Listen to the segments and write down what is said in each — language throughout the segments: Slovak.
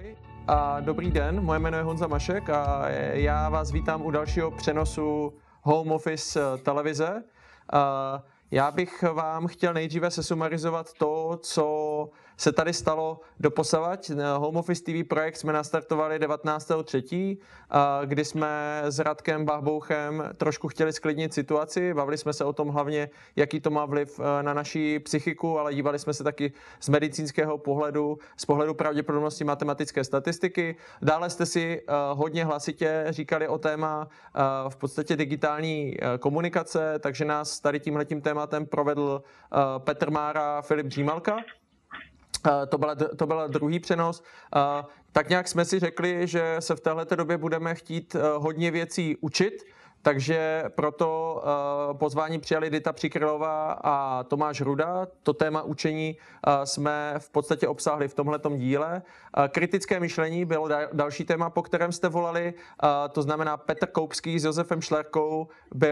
Ahoj a dobrý den, moje jméno je Honza Mašek a já vás vítám u dalšího přenosu Home Office televize. Já bych vám chtěl nejdříve sesumarizovat to, co se tady stalo doposavať. Home Office TV projekt jsme nastartovali 19.3., kdy jsme s Radkem Bachbouchem trošku chtěli sklidnit situaci. Bavili jsme se o tom hlavně, jaký to má vliv na naši psychiku, ale dívali jsme se taky z medicínského pohledu, z pohledu pravděpodobnosti matematické statistiky. Dále jste si hodně hlasitě říkali o téma v podstatě digitální komunikace, takže nás tady tímhletím tématem provedl Petr Mára, Filip Dřímalka. To byl druhý přenos. Tak nějak jsme si řekli, že se v téhleté době budeme chtít hodně věcí učit, takže proto pozvání přijali Dita Přikrylová a Tomáš Ruda. To téma učení jsme v podstatě obsáhli v tomhletom díle. Kritické myšlení bylo další téma, po kterém jste volali. To znamená Petr Koupský s Josefem Šlerkou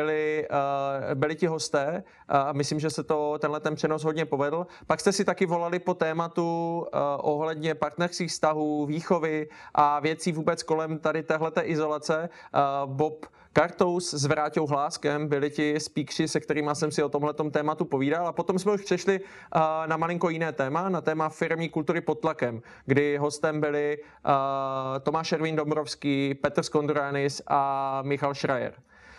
byli ti hosté. Myslím, že se tenhle přenos hodně povedl. Pak jste si taky volali po tématu ohledně partnerských vztahů, výchovy a věcí vůbec kolem tady téhleté izolace. Bob Kartous s Vráťou Hláskem byli ti speakři, se kterými jsem si o tomhletom tématu povídal. A potom jsme už přešli na malinko jiné téma, na téma firemní kultury pod tlakem, kdy hostem byli Tomáš Ervín Dombrovský, Petr Skonduranis a Michal Schreier.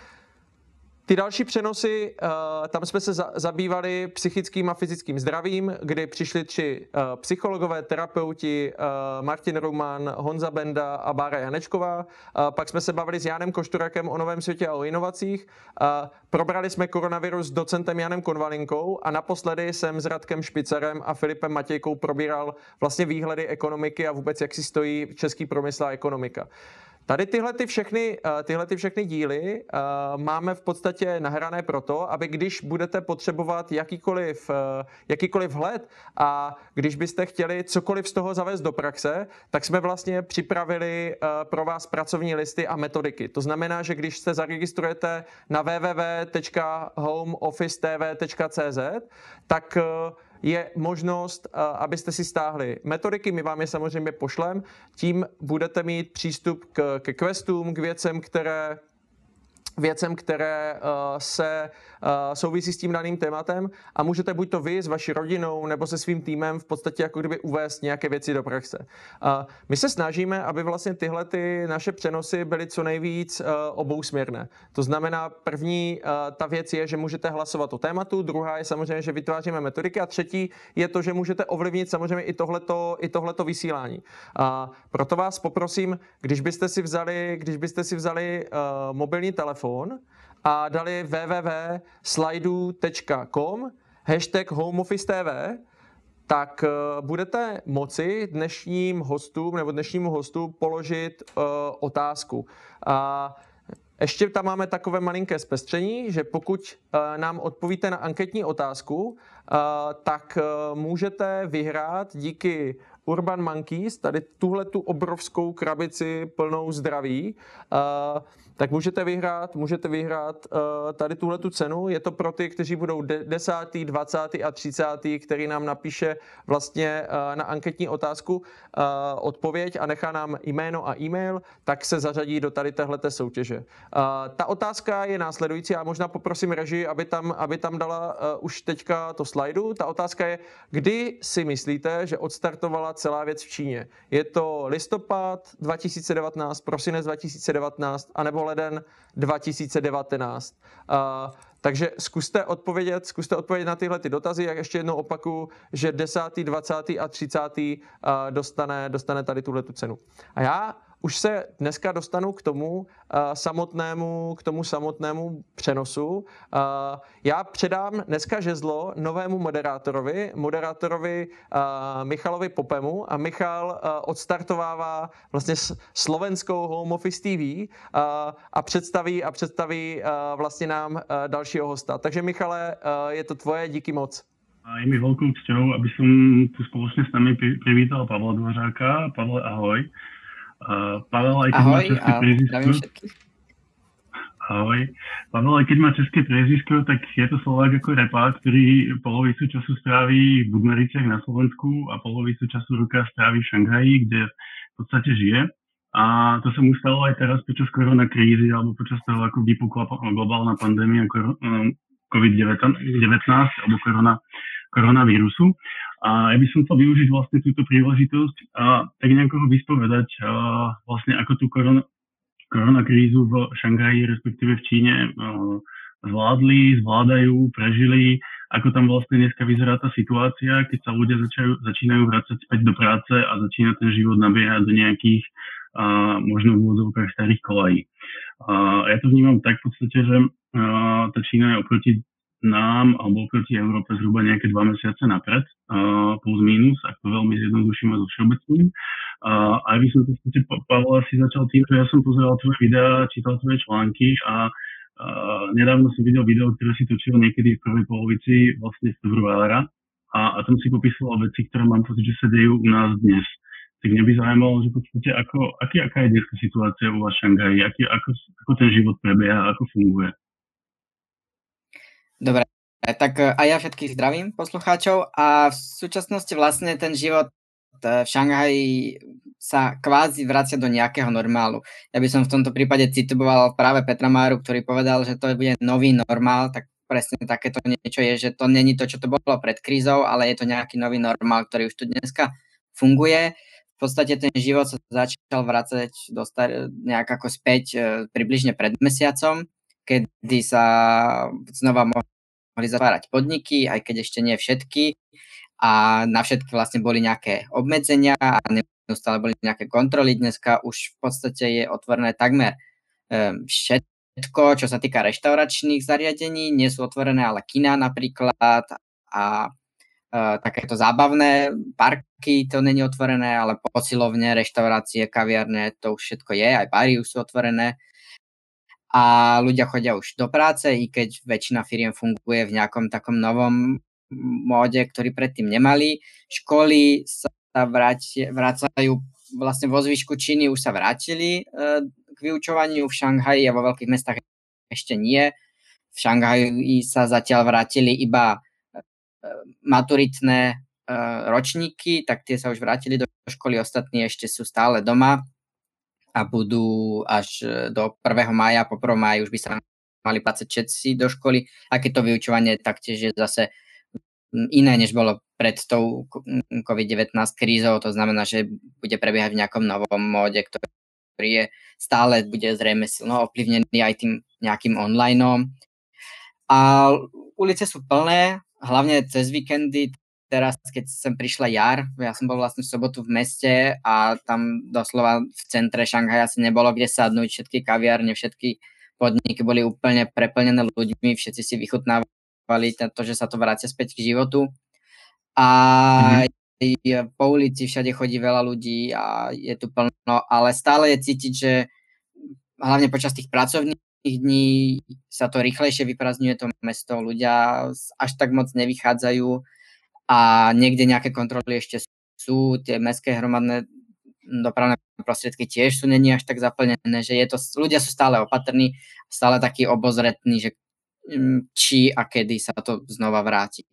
Ty další přenosy, tam jsme se zabývali psychickým a fyzickým zdravím, kdy přišli 3 psychologové, terapeuti, Martin Ruman, Honza Benda a Bára Janečková. Pak jsme se bavili s Janem Košturakem o novém světě a o inovacích. Probrali jsme koronavirus s docentem Janem Konvalinkou a naposledy jsem s Radkem Špicarem a Filipem Matějkou probíral vlastně výhledy ekonomiky a vůbec jak si stojí český průmysl a ekonomika. Tady tyhle všechny díly máme v podstatě nahrané proto, aby když budete potřebovat jakýkoliv vhled a když byste chtěli cokoliv z toho zavést do praxe, tak jsme vlastně připravili pro vás pracovní listy a metodiky. To znamená, že když se zaregistrujete na www.homeofficetv.cz, tak je možnost, abyste si stáhli metodiky, my vám je samozřejmě pošlem, tím budete mít přístup ke questům, k věcem, které se souvisí s tím daným tématem a můžete buď to vy s vaší rodinou nebo se svým týmem v podstatě jako kdyby uvést nějaké věci do praxe. My se snažíme, aby vlastně tyhle naše přenosy byly co nejvíc obousměrné. To znamená, první ta věc je, že můžete hlasovat o tématu, druhá je samozřejmě, že vytváříme metodiky a třetí je to, že můžete ovlivnit samozřejmě i tohleto vysílání. Proto vás poprosím, když byste si vzali mobilní telefon a dali www.slidu.com #HomeOfficeTV, tak budete moci dnešnímu hostu položit otázku. Ještě tam máme takové malinké zpestření, že pokud nám odpovíte na anketní otázku, tak můžete vyhrát díky Urban Monkeys, tady tuhletu obrovskou krabici plnou zdraví, tak můžete vyhrát tady tuhletu cenu. Je to pro ty, kteří budou 10., 20. a 30., který nám napíše vlastně na anketní otázku odpověď a nechá nám jméno a e-mail, tak se zařadí do tady téhleté soutěže. Ta otázka je následující, já možná poprosím režii, aby tam dala už teďka to slajdu. Ta otázka je, kdy si myslíte, že odstartovala celá věc v Číně? Je to listopad 2019, prosinec 2019, anebo leden 2019? Takže zkuste odpovědět na tyhle ty dotazy. Jak ještě jednou opakuju, že 10., 20. a 30. dostane tady tuhletu cenu. A já už se dneska dostanu k tomu samotnému přenosu. Já předám dneska žezlo novému moderátorovi Michalovi Popemu a Michal odstartovává vlastně slovenskou Home Office TV a představí vlastně nám dalšího hosta. Takže Michale, je to tvoje, díky moc. Je mi veľkou cťou, aby som tu spoločne s nami privítal Pavla Dvořáka. Pavle, ahoj. Pavel, aj keď má české priezvisko. Ahoj. Pavel, aj keď má české priezvisko, tak je to Slovák ako repák, ktorý polovicu času stráví v Budmericiach na Slovensku a polovicu času roka stráví v Šanghaji, kde podstate žije. A to sa mu stalo aj teraz počas koronakrízy alebo počas toho, ako vypukla globálna pandémia COVID-19 alebo koronavírusu. A ja by som chcel využiť vlastne túto príležitosť a tak nejako ho vyspovedať vlastne ako tú koronakrízu v Šanghaji, respektíve v Číne zvládajú, prežili, ako tam vlastne dneska vyzerá tá situácia, keď sa ľudia začínajú vrácať späť do práce a začína ten život nabiehať do nejakých možno v úvodzovkách starých kolají. Ja to vnímam tak v podstate, že tá Čína je oproti nám alebo oproti Európe zhruba nejaké 2 mesiace napred, plus minus, ak to veľmi zjednoduším a zo všeobecným. A by som v podstate, Pavel, asi začal tým, že ja som pozeral tvoje videá, čítal tvoje články a nedávno som videl video, ktoré si točil niekedy v prvej polovici vlastne februára a tam si popisoval veci, ktoré mám pocit, že sa dejú u nás dnes. Tak mňa by zaujímalo, že v podstate aká je dneska situácia u vás v Šanghaji, ako ten život prebieha, ako funguje. Dobre, tak a ja všetkých zdravím poslucháčov a v súčasnosti vlastne ten život v Šanghaji sa kvázi vracia do nejakého normálu. Ja by som v tomto prípade citoval práve Petra Máru, ktorý povedal, že to bude nový normál, tak presne takéto niečo je, že to není to, čo to bolo pred krízou, ale je to nejaký nový normál, ktorý už tu dneska funguje. V podstate ten život sa začal vracať nejak ako späť približne pred mesiacom, kedy sa znova mohli zatvárať podniky, aj keď ešte nie všetky. A na všetky vlastne boli nejaké obmedzenia a neustále boli nejaké kontroly. Dneska už v podstate je otvorené takmer všetko, čo sa týka reštauračných zariadení. Nie sú otvorené ale kina napríklad a takéto zábavné parky, to není otvorené, ale posilovne, reštaurácie, kaviarne, to už všetko je, aj bary už sú otvorené. A ľudia chodia už do práce, i keď väčšina firiem funguje v nejakom takom novom móde, ktorý predtým nemali. Školy sa vracajú vlastne vo zvyšku Číny, už sa vrátili k vyučovaniu, v Šanghaji a vo veľkých mestách ešte nie. V Šanghaji sa zatiaľ vrátili iba maturitné ročníky, tak tie sa už vrátili do školy, ostatní ešte sú stále doma a budú až do 1. mája, po 1. máji už by sa mali vrácať všetci do školy, a keď to vyučovanie taktiež je zase iné, než bolo pred tou COVID-19 krízou, to znamená, že bude prebiehať v nejakom novom móde, ktorý je stále bude zrejme silno ovplyvnený aj tým nejakým onlineom. A ulice sú plné, hlavne cez víkendy. Teraz, keď sem prišla jar, ja som bol vlastne v sobotu v meste a tam doslova v centre Šanghaja asi nebolo kde sadnúť, všetky kaviárne, všetky podniky boli úplne preplnené ľuďmi, všetci si vychutnávali to, že sa to vrácia späť k životu. A po ulici všade chodí veľa ľudí a je tu plno, ale stále je cítiť, že hlavne počas tých pracovných dní sa to rýchlejšie vyprázdňuje to mesto, ľudia až tak moc nevychádzajú a niekde nejaké kontroly ešte sú, tie mestské hromadné dopravné prostriedky tiež sú není až tak zaplnené, že ľudia sú stále opatrní, stále takí obozretní, že či a kedy sa to znova vráti.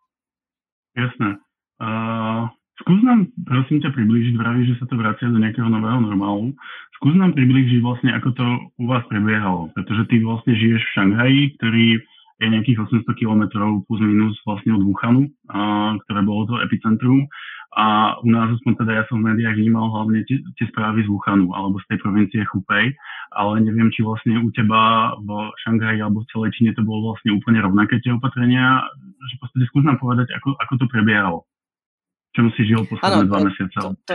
Jasné. Skús nám, prosím ťa, priblížiť, vravíš, že sa to vracia do nejakého nového normálu. Skús nám priblížiť vlastne, ako to u vás prebiehalo, pretože ty vlastne žiješ v Šanghaji, ktorý je nejakých 800 kilometrov plus minus vlastne od Wuhanu, ktoré bolo to epicentrum. A u nás, aspoň teda ja som v médiách vnímal hlavne tie správy z Wuhanu alebo z tej provincie Hubei, ale neviem, či vlastne u teba v Šanghaji alebo v celej Číne to bolo vlastne úplne rovnaké tie opatrenia, že v podstate skús nám povedať, ako to prebiehalo. Čom si žil posledné 2 mesiace?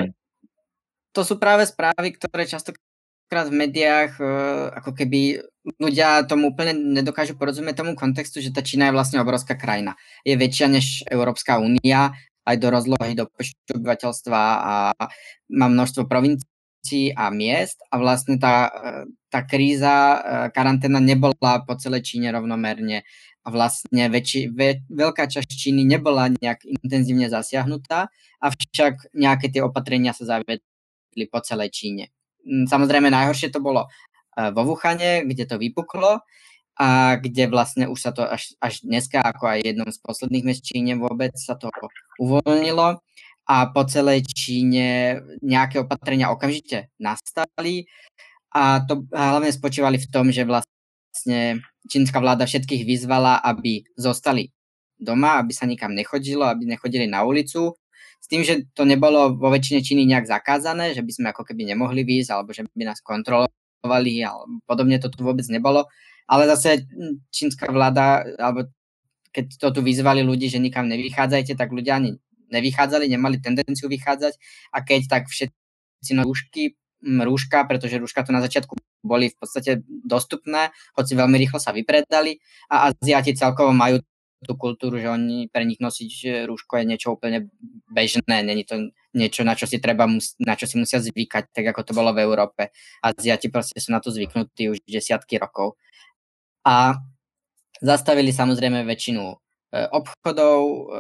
To sú práve správy, ktoré častokrát v médiách ako keby ľudia tomu úplne nedokážu porozumieť tomu kontextu, že tá Čína je vlastne obrovská krajina. Je väčšia než Európska únia, aj do rozlohy, do počtu obyvateľstva a má množstvo provincií a miest a vlastne tá kríza, karanténa nebola po celej Číne rovnomerne a vlastne veľká časť Číny nebola nejak intenzívne zasiahnutá, avšak nejaké tie opatrenia sa zaviedli po celej Číne. Samozrejme najhoršie to bolo vo Wuhane, kde to vypuklo a kde vlastne už sa to až dneska, ako aj jednom z posledných miest Číne vôbec sa to uvoľnilo a po celej Číne nejaké opatrenia okamžite nastali a to hlavne spočívali v tom, že vlastne čínska vláda všetkých vyzvala, aby zostali doma, aby sa nikam nechodilo, aby nechodili na ulicu, s tým, že to nebolo vo väčšine Číny nejak zakázané, že by sme ako keby nemohli výjsť, alebo že by nás kontrolovali, alebo podobne to tu vôbec nebolo, ale zase čínska vláda, alebo keď to tu vyzvali ľudí, že nikam nevychádzajte, tak ľudia ani nevychádzali, nemali tendenciu vychádzať a keď tak všetci rúška, pretože rúška tu na začiatku boli v podstate dostupné, hoci veľmi rýchlo sa vypredali a Aziati celkovo majú tú kultúru, že oni pre nich nosiť rúško je niečo úplne bežné, není to niečo, na čo si musia zvykať, tak ako to bolo v Európe. Aziati proste sú na to zvyknutí už desiatky rokov. A zastavili samozrejme väčšinu obchodov,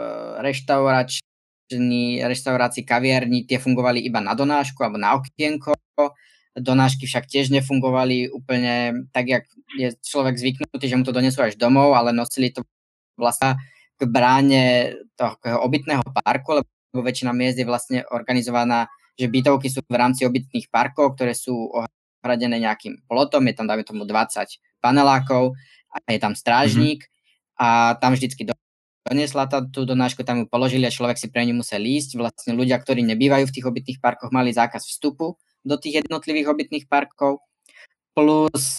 reštaurácií, kaviarní, tie fungovali iba na donášku alebo na okienko. Donášky však tiež nefungovali úplne tak, jak je človek zvyknutý, že mu to donesú až domov, ale nosili to vlastne k bráne toho obytného parku, lebo väčšina miest je vlastne organizovaná, že bytovky sú v rámci obytných parkov, ktoré sú ohradené nejakým plotom, je tam dáme tomu 20 panelákov a je tam strážnik a tam vždycky doniesla tú donášku, tam ju položili a človek si pre ňu musel ísť. Vlastne ľudia, ktorí nebývajú v tých obytných parkoch, mali zákaz vstupu do tých jednotlivých obytných parkov, plus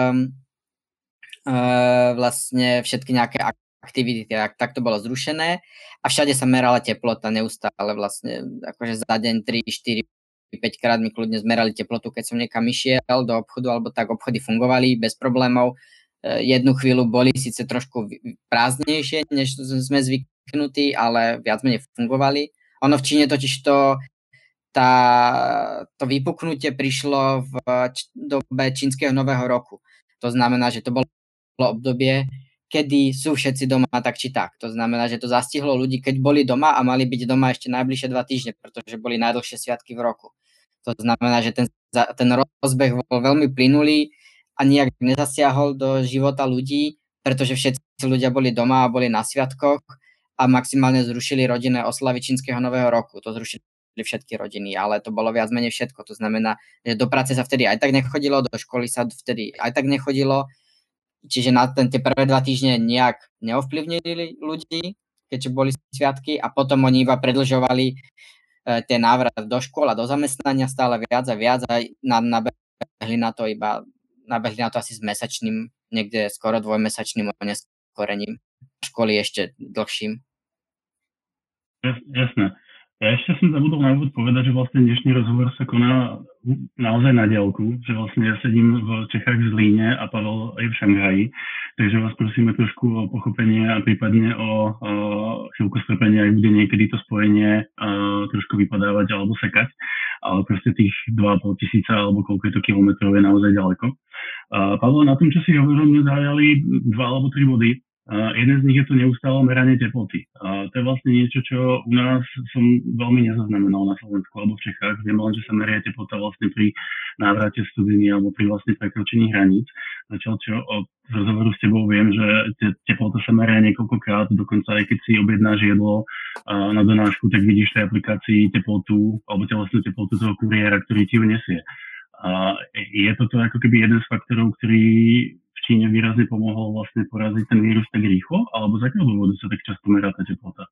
vlastne všetky nejaké aktivity, tak to bolo zrušené a všade sa merala teplota neustále vlastne, akože za deň 3, 4, 5 krát mi kľudne zmerali teplotu, keď som niekam išiel do obchodu, alebo tak obchody fungovali bez problémov. Jednu chvíľu boli síce trošku prázdnejšie, než sme zvyknutí, ale viac menej fungovali. Ono v Číne totiž to vypuknutie prišlo v dobe čínskeho nového roku. To znamená, že to bolo obdobie, kedy sú všetci doma tak či tak. To znamená, že to zastihlo ľudí, keď boli doma a mali byť doma ešte najbližšie 2 týždne, pretože boli najdlhšie sviatky v roku. To znamená, že ten rozbeh bol veľmi plynulý a nijak nezasiahol do života ľudí, pretože všetci ľudia boli doma a boli na sviatkoch a maximálne zrušili rodinné oslavy čínskeho nového roku. To zrušili všetky rodiny, ale to bolo viac menej všetko. To znamená, že do práce sa vtedy aj tak nechodilo, do školy sa vtedy aj tak nechodilo, čiže na tie prvé 2 týždne nejak neovplyvnili ľudí, keďže boli sviatky a potom oni iba predĺžovali ten návrat do škôl a do zamestnania stále viac a viac a nabehli na to asi s mesačným, niekde skoro 2-mesačným oneskorením. Školy ešte dlhším. Jasné. Ja ešte som zabudol na úvod povedať, že vlastne dnešný rozhovor sa koná naozaj na diaľku, že vlastne ja sedím v Čechách v Zlíne a Pavel je v Šanghaji, takže vás prosíme trošku o pochopenie a prípadne o chvíľku strpenia, ak bude niekedy to spojenie trošku vypadávať alebo sekať, ale proste tých 2,5 tisíca alebo koľko je to kilometrov je naozaj ďaleko. Pavel, na tom, čo si hovoril, mne zaujali 2 alebo 3 body. Jeden z nich je to neustále meranie teploty. To je vlastne niečo, čo u nás som veľmi nezaznamenal na Slovensku alebo v Čechách. Viem len, že sa meria teplota vlastne pri návrate studiny alebo pri vlastne prekročení hraníc. Zatiaľ čo od rozhovoru s tebou viem, že teplota sa meria niekoľkokrát, dokonca aj keď si objednáš jedlo na donášku, tak vidíš v tej aplikácii teplotu alebo telesnú teplotu toho kuriéra, ktorý ti ju nesie. Je toto ako keby jeden z faktorov, ktorý v Číne výrazne pomohol vlastne poraziť ten vírus tak rýchlo? Alebo z akého dôvodu sa tak často merá tá teplota?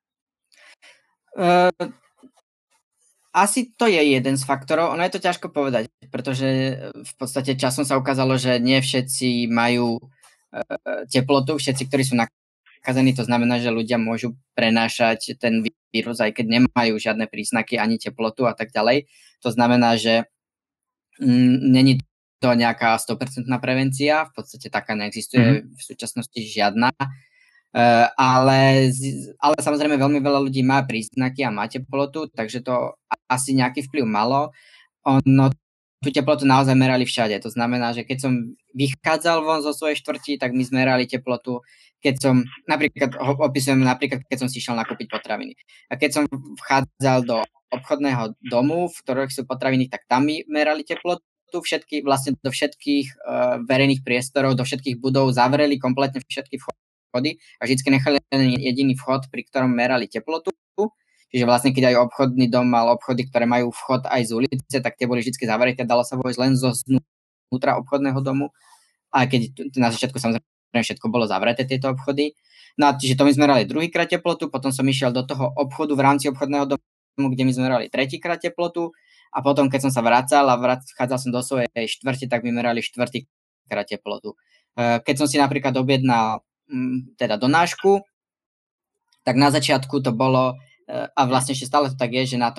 Asi to je jeden z faktorov. Ono je to ťažko povedať, pretože v podstate časom sa ukázalo, že nie všetci majú teplotu, všetci, ktorí sú nakazení, to znamená, že ľudia môžu prenášať ten vírus, aj keď nemajú žiadne príznaky ani teplotu a tak ďalej. To znamená, že není to nejaká 100% prevencia, v podstate taká neexistuje v súčasnosti žiadna, ale samozrejme veľmi veľa ľudí má príznaky a má teplotu, takže to asi nejaký vplyv malo. Ono tú teplotu naozaj merali všade, to znamená, že keď som vychádzal von zo svojej štvrti, tak my zmerali teplotu, keď som, keď som si išiel nakúpiť potraviny. A keď som vchádzal do obchodného domu, v ktorých sú potraviny, tak tam mi merali teplotu, vlastne do všetkých verejných priestorov, do všetkých budov zavreli kompletne všetky vchody a vždycky nechali jediný vchod, pri ktorom merali teplotu. Čiže vlastne, keď aj obchodný dom mal obchody, ktoré majú vchod aj z ulice, tak tie boli vždy zavreté, dalo sa vojsť len zo znútra obchodného domu. A keď na začiatku samozrejme všetko bolo zavreté, tieto obchody. No a čiže to my sme merali druhýkrát teplotu, potom som išiel do toho obchodu v rámci obchodného domu, kde my sme merali tretíkrát teplotu a potom, keď som sa vracal a vchádzal som do svojej štvrte, tak my merali štvrtýkrát teplotu. Keď som si napríklad objednal teda donášku, tak na začiatku to bolo, a vlastne ešte stále to tak je, že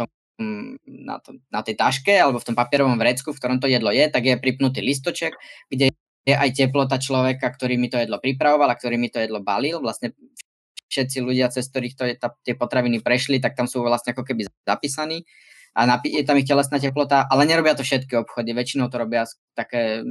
na tej taške alebo v tom papierovom vrecku, v ktorom to jedlo je, tak je pripnutý listoček, kde je aj teplota človeka, ktorý mi to jedlo pripravoval a ktorý mi to jedlo balil. Vlastne všetci ľudia, cez ktorých tie potraviny prešli, tak tam sú vlastne ako keby zapísaní a je tam ich telesná teplota, ale nerobia to všetky obchody. Väčšinou to robia také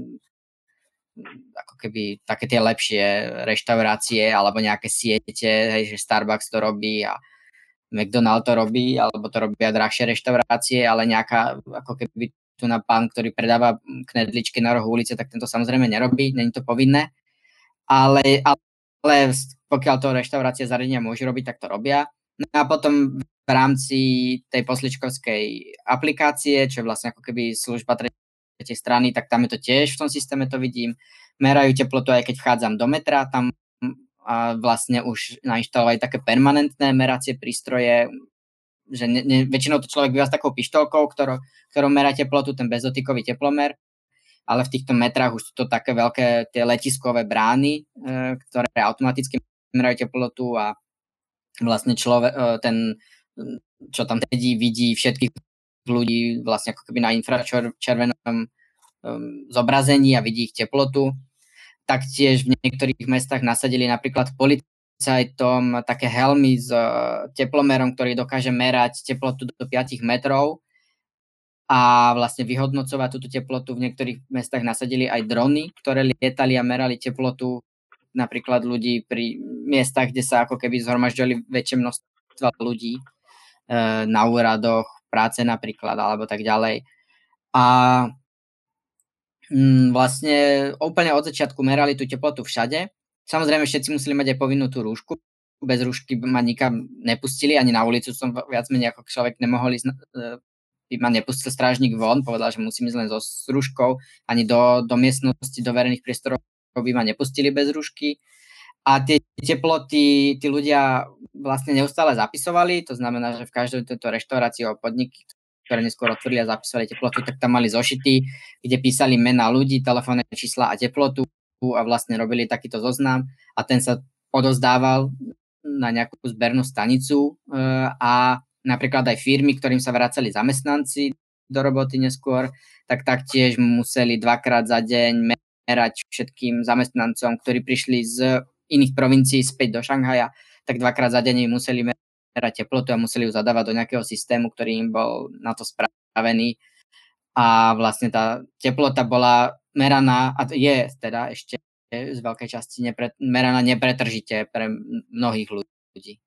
ako keby také tie lepšie reštaurácie alebo nejaké siete, hej, že Starbucks to robí a McDonald's to robí, alebo to robia drahšie reštaurácie, ale nejaká ako keby tu na pán, ktorý predáva knedličky na rohu ulice, tak tento samozrejme nerobí, není to povinné, ale pokiaľ to reštaurácie zariadenia môžu robiť, tak to robia. No a potom v rámci tej posličkovskej aplikácie, čo je vlastne ako keby služba tretej strany, tak tam je to tiež, v tom systéme to vidím. Merajú teplotu aj keď vchádzam do metra, tam a vlastne už nainštalovali také permanentné meracie prístroje, že väčšinou to človek býva s takou pištolkou, ktorou merá teplotu, ten bezdotykový teplomer, ale v týchto metrách už sú to také veľké tie letiskové brány, ktoré automaticky merajú teplotu a vlastne ten, čo tam sedí, vidí všetkých ľudí vlastne ako keby na infračervenom zobrazení a vidí ich teplotu. Taktiež v niektorých mestách nasadili napríklad policajtom také helmy s teplomerom, ktorý dokáže merať teplotu do 5 metrov a vlastne vyhodnocovať túto teplotu. V niektorých mestách nasadili aj drony, ktoré lietali a merali teplotu napríklad ľudí pri miestach, kde sa ako keby zhromažďovali väčšie množstva ľudí na úradoch, práce napríklad, alebo tak ďalej. A vlastne úplne od začiatku merali tú teplotu všade. Samozrejme, všetci museli mať aj povinnú tú rúšku. Bez rúšky ma nikam nepustili, ani na ulicu som viac menej ako človek nemohol ísť, ma nepustil strážnik von, povedal, že musím ísť len so rúškou, ani do miestnosti, do verejných priestorov by ma nepustili bez rúšky. A tie teploty tí ľudia vlastne neustále zapisovali, to znamená, že v každej tejto reštaurácii alebo podniky, ktoré neskôr otvorili a zapísali teplotu, tak tam mali zošity, kde písali mená ľudí, telefónne čísla a teplotu a vlastne robili takýto zoznam a ten sa odozdával na nejakú zbernú stanicu a napríklad aj firmy, ktorým sa vracali zamestnanci do roboty neskôr, tak taktiež museli 2-krát za deň merať všetkým zamestnancom, ktorí prišli z iných provincií späť do Šanghaja, tak 2-krát za deň museli merať teplotu a museli ju zadávať do nejakého systému, ktorý im bol na to spravený. A vlastne tá teplota bola meraná, a je teda ešte z veľkej časti meraná nepretržite pre mnohých ľudí.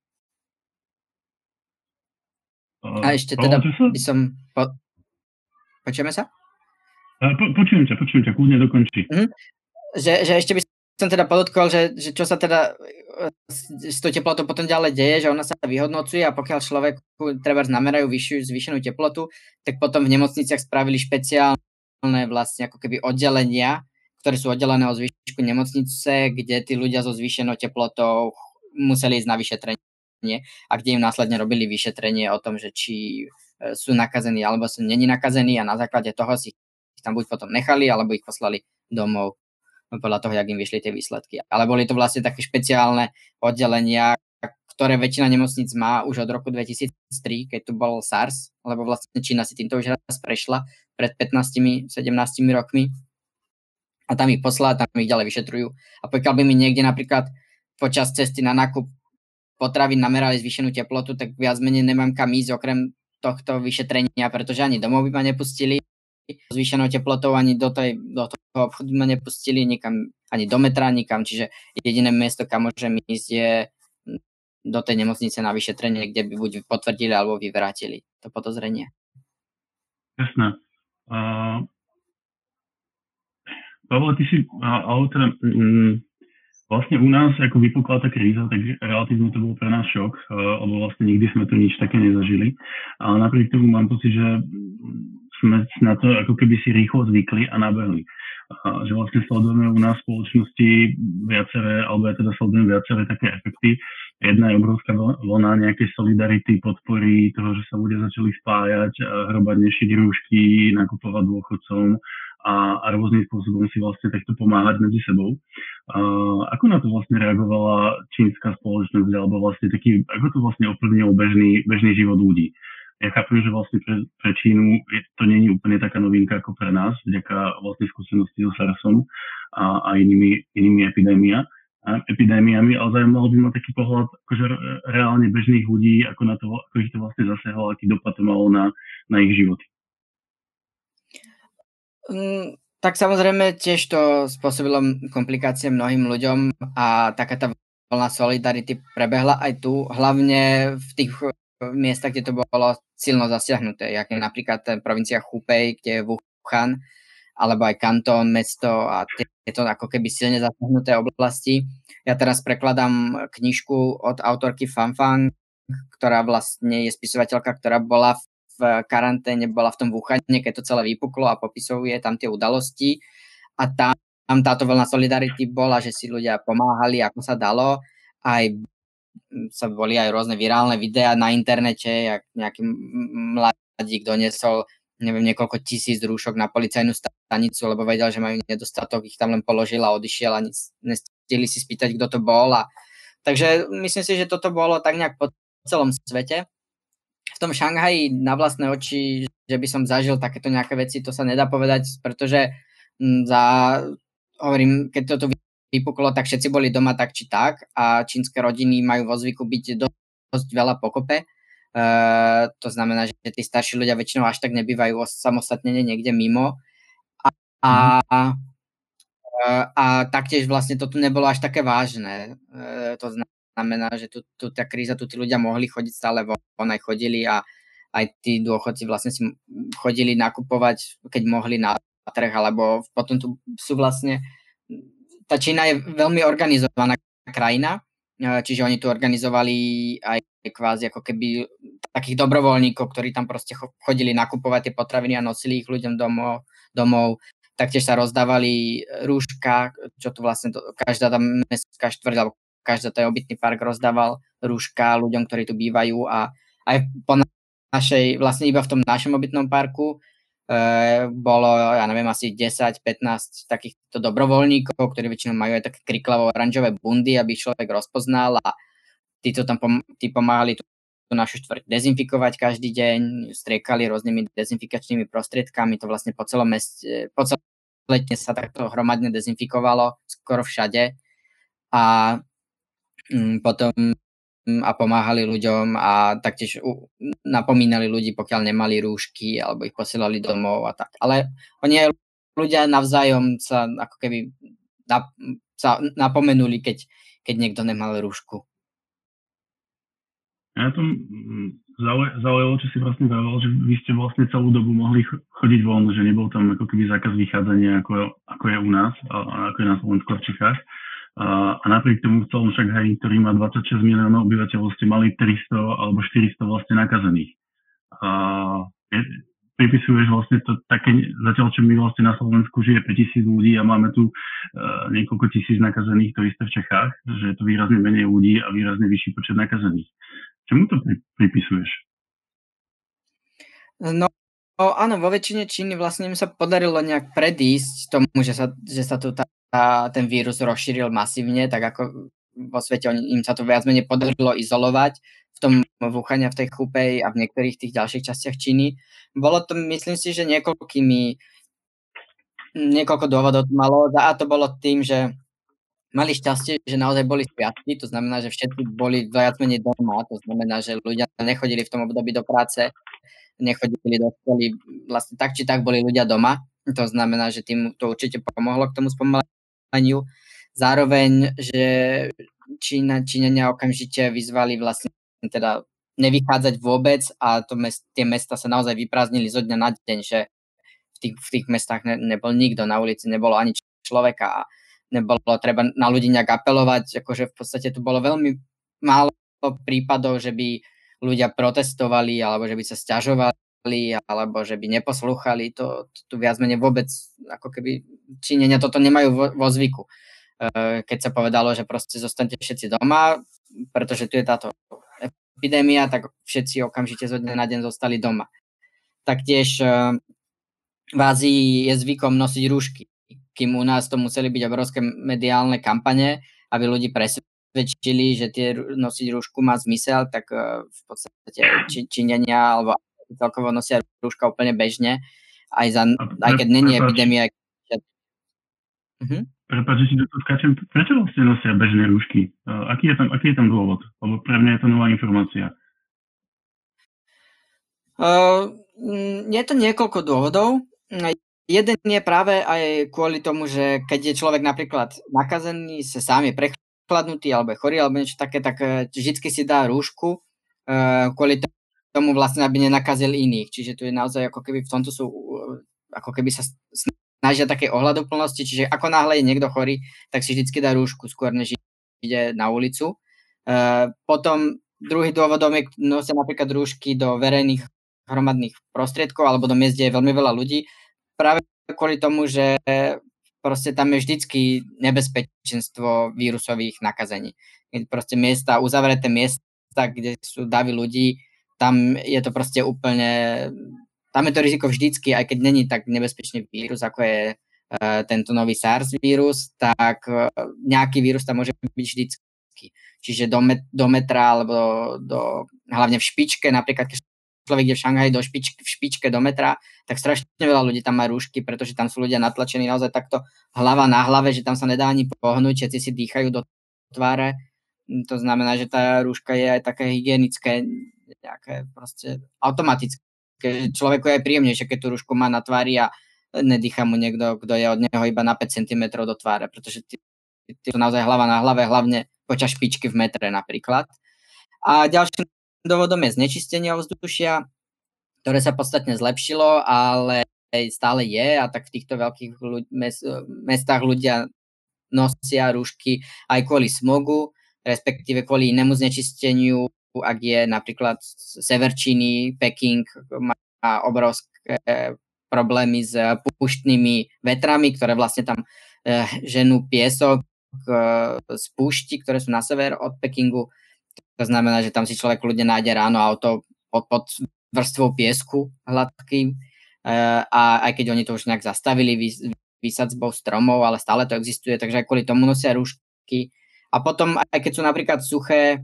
A ešte teda by som... Počujeme sa? Počujem ťa, kľudne dokončí. Že ešte by som teda podotkol, že čo sa teda s tou teplotou potom ďalej deje, že ona sa vyhodnocuje a pokiaľ človeku treba namerajú zvýšenú teplotu, tak potom v nemocniciach spravili špeciálne vlastne ako keby oddelenia, ktoré sú oddelené od zvyšku nemocnice, kde tí ľudia so zvýšenou teplotou museli ísť na vyšetrenie a kde im následne robili vyšetrenie o tom, že či sú nakazení alebo sú není nakazení a na základe toho si ich tam buď potom nechali, alebo ich poslali domov podľa toho, jak im vyšli tie výsledky. Ale boli to vlastne také špeciálne oddelenia, ktoré väčšina nemocníc má už od roku 2003, keď tu bol SARS, lebo vlastne Čína si týmto už raz prešla pred 15-17 rokmi a tam ich poslala, tam ich ďalej vyšetrujú. A pokiaľ by mi niekde napríklad počas cesty na nákup potravín namerali zvýšenú teplotu, tak viac menej nemám kam ísť okrem tohto vyšetrenia, pretože ani domov by ma nepustili zvýšenou teplotou, ani do toho obchodu ma nepustili, nikam, ani do metra, nikam, čiže jediné miesto, kam môžem ísť, je do tej nemocnice na vyšetrenie, kde by buď potvrdili alebo vyvrátili to podozrenie. Jasné. Pavle, ty si, ale teda, Vlastne u nás, ako vypukla tá kríza, tak relatívne to bol pre nás šok, lebo vlastne nikdy sme tu nič také nezažili. Ale napriek tomu mám pocit, že sme na to ako keby si rýchlo zvykli a nabehli. Že vlastne sledujeme u nás v spoločnosti viaceré, alebo ja teda sledujem viaceré také efekty. Jedna je obrovská vlna nejakej solidarity, podpory toho, že sa ľudia začali spájať, hromadne šiť rúšky, nakupovať dôchodcom a rôznym spôsobom si vlastne takto pomáhať medzi sebou. Ako na to vlastne reagovala čínska spoločnosť, alebo vlastne taký, ako to vlastne ovplyvnilo bežný život ľudí? Ja chápem, že vlastne pre Čínu to nie je úplne taká novinka ako pre nás, vďaka vlastne skúsenosti so SARSom a inými epidémiami, ale zaujímalo by ma taký pohľad akože reálne bežných ľudí, ako ich to vlastne zasiahlo, aký dopad to malo na ich životy. Tak samozrejme tiež to spôsobilo komplikácie mnohým ľuďom a taká tá vlna solidarity prebehla aj tu, hlavne v tých miestach, kde to bolo silno zasiahnuté, jak je napríklad provincia Hubei, kde je Wuhan, alebo aj Kantón, mesto a tieto ako keby silne zasiahnuté oblasti. Ja teraz prekladám knižku od autorky Fanfang, ktorá vlastne je spisovateľka, ktorá bola v karanténe, bola v tom Wuhane, keď to celé vypuklo a popisuje tam tie udalosti a tam táto vlna solidarity bola, že si ľudia pomáhali, ako sa dalo, aj sa boli aj rôzne virálne videá na internete, jak nejaký mladík doniesol niekoľko tisíc rúšok na policajnú stanicu, lebo vedel, že majú nedostatok, ich tam len položil a odišiel a nestihli si spýtať, kto to bol. Takže myslím si, že toto bolo tak nejak po celom svete. V tom Šanghaji na vlastné oči, že by som zažil takéto nejaké veci, to sa nedá povedať, pretože hovorím, keď toto vypuklo, tak všetci boli doma tak či tak a čínske rodiny majú vo zvyku byť dosť veľa pokope. To znamená, že tí starší ľudia väčšinou až tak nebývajú samostatnene niekde mimo. A taktiež vlastne to tu nebolo až také vážne. To znamená, že tu tá kríza, tu tí ľudia mohli chodiť stále von, aj chodili a aj tí dôchodci vlastne si chodili nakupovať, keď mohli na trh, alebo potom tu sú vlastne... Tá Čína je veľmi organizovaná krajina, čiže oni tu organizovali aj kvázi ako keby takých dobrovoľníkov, ktorí tam proste chodili nakupovať tie potraviny a nosili ich ľuďom domov. Taktiež sa rozdávali rúška, čo tu vlastne každá tá mestská štvrť alebo každý ten obytný park rozdával rúška ľuďom, ktorí tu bývajú a aj po našej, vlastne iba v tom našom obytnom parku bolo, ja neviem, asi 10-15 takýchto dobrovoľníkov, ktorí väčšinou majú aj také kriklavo-oranžové bundy, aby človek rozpoznal a tí pomáhali tú našu štvrť dezinfikovať každý deň, striekali rôznymi dezinfikačnými prostriedkami, to vlastne po celom meste, po celé dne sa takto hromadne dezinfikovalo, skoro všade a potom a pomáhali ľuďom a taktiež napomínali ľudí, pokiaľ nemali rúšky alebo ich posielali domov a tak. Ale oni aj ľudia navzájom sa ako keby sa napomenuli, keď niekto nemal rúšku. Ja to zaujalo, čo si vlastne zaujalo, že vy ste vlastne celú dobu mohli chodiť von, že nebol tam ako keby zákaz vychádzania, ako je u nás, a ako je na Slovensku a v Čechách. A napriek tomu v celom Šanghaji, ktorý má 26 miliónov obyvateľov, ste mali 300 alebo 400 vlastne nakazených. Pripisuješ vlastne to také, zatiaľ čo my vlastne na Slovensku žije 5000 ľudí a máme tu niekoľko tisíc nakazených, to isté v Čechách, že je to výrazne menej ľudí a výrazne vyšší počet nakazených. Čemu to pripisuješ? No áno, vo väčšine Číny vlastne im sa podarilo nejak predísť tomu, že sa tu ten vírus rozšíril masívne, tak ako vo svete im sa to viac menej podarilo izolovať v tom Wuhane, v tej Hubei a v niektorých tých ďalších častiach Číny. Bolo to, myslím si, že niekoľko dôvodov malo a to bolo tým, že mali šťastie, že naozaj boli sviatky, to znamená, že všetci boli viac menej doma, to znamená, že ľudia nechodili v tom období do práce, nechodili do školy, vlastne tak či tak boli ľudia doma, to znamená, že tým to určite pomohlo k tomu spomaleniu. Zároveň, že Číňania okamžite vyzvali vlastne teda nevychádzať vôbec a tie mesta sa naozaj vyprázdnili zo dňa na deň, že v tých mestách nebol nikto, na ulici nebolo ani človeka a nebolo treba na ľudí nejak apelovať, akože v podstate tu bolo veľmi málo prípadov, že by ľudia protestovali, alebo že by sa sťažovali, alebo že by neposlúchali, to tu viac menej vôbec, ako keby Číňania toto nemajú vo zvyku. Keď sa povedalo, že proste zostanete všetci doma, pretože tu je táto epidémia, tak všetci okamžite zo dňa na deň zostali doma. Taktiež v Ázii je zvykom nosiť rúšky, kým u nás to museli byť obrovské mediálne kampane, aby ľudí presvedčili, že nosiť rúšku má zmysel, tak v podstate Číňania alebo celkovo nosia rúška úplne bežne, aj keď není epidémia. Prepáč, že si do toho skáčem. Prečo vlastne nosia bežné rúšky? Aký je tam dôvod? Lebo pre mňa je to nová informácia. Je to niekoľko dôvodov. Jeden je práve aj kvôli tomu, že keď je človek napríklad nakazený, sa sám je prechladnutý alebo je chorý alebo niečo také, tak vždycky si dá rúšku kvôli tomu vlastne, aby nenakazil iných. Čiže tu je naozaj ako keby v tomto sú ako keby sa snažia také ohľaduplnosti, čiže ako náhle je niekto chorý, tak si vždycky dá rúšku skôr, než ide na ulicu. Potom druhý dôvodom je, nosia napríklad rúšky do verejných hromadných prostriedkov alebo do miest, kde je veľmi veľa ľudí, práve kvôli tomu, že proste tam je vždycky nebezpečenstvo vírusových nakazení. Proste miesta, uzavreté miesta, kde sú davy ľudí, tam je to proste úplne, tam je to riziko vždycky, aj keď není tak nebezpečný vírus, ako je tento nový SARS vírus, tak nejaký vírus tam môže byť vždycky. Čiže do metra, alebo hlavne v špičke, napríklad keď človek ide v Šanghaji v špičke do metra, tak strašne veľa ľudí tam má rúšky, pretože tam sú ľudia natlačení naozaj takto hlava na hlave, že tam sa nedá ani pohnúť, všetci si dýchajú do tváre. To znamená, že tá rúška je aj také hygienické, nejaké proste automatické. Človeku je aj príjemnejšie, keď tú rúšku má na tvári a nedýcha mu niekto, kto je od neho iba na 5 cm do tváre, pretože ty sú naozaj hlava na hlave, hlavne počas špičky v metre napríklad. A ďalším dôvodom je znečistenie ovzdušia, ktoré sa podstatne zlepšilo, ale stále je a tak v týchto veľkých mestách ľudia nosia rúšky aj kvôli smogu, respektíve kvôli inému znečisteniu, ak je napríklad sever Číny, Peking má obrovské problémy s púštnymi vetrami, ktoré vlastne tam ženú piesok z púšti, ktoré sú na sever od Pekingu. To znamená, že tam si človek ľudia nájde ráno auto pod vrstvou piesku hladkým a aj keď oni to už nejak zastavili výsadzbou stromov, ale stále to existuje, takže aj kvôli tomu nosia rúšky. A potom, aj keď sú napríklad suché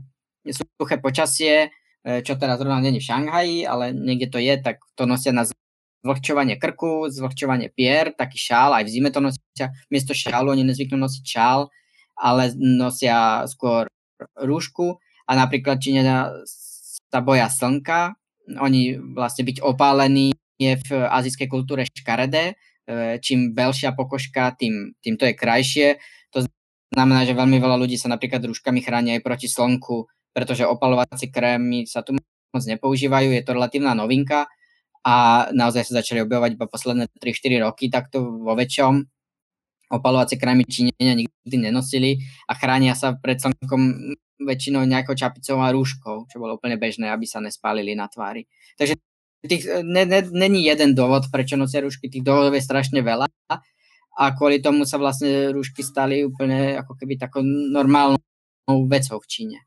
počasie, čo teraz zrovna nie je v Šanghaji, ale niekde to je, tak to nosia na zvlhčovanie krku, zvlhčovanie pier, taký šál, aj v zime to nosia. Miesto šálu oni nezvyknú nosiť šál, ale nosia skôr rúšku. A napríklad Číňania sa boja slnka, oni vlastne byť opálení je v azijskej kultúre škaredé, čím belšia pokožka, tým to je krajšie. To znamená, že veľmi veľa ľudí sa napríklad rúškami chráni aj proti slnku, pretože opalovacie krémy sa tu moc nepoužívajú, je to relatívna novinka a naozaj sa začali objavovať iba posledné 3-4 roky takto vo väčšom. Opalovacie krémy Číňania nikdy nenosili a chránia sa pred slnkom väčšinou nejakou čapicou a rúškou, čo bolo úplne bežné, aby sa nespálili na tvári. Takže není jeden dôvod, prečo nosia rúšky, tých dôvodov je strašne veľa a kvôli tomu sa vlastne rúšky stali úplne ako keby takou normálnou vecou v Číne.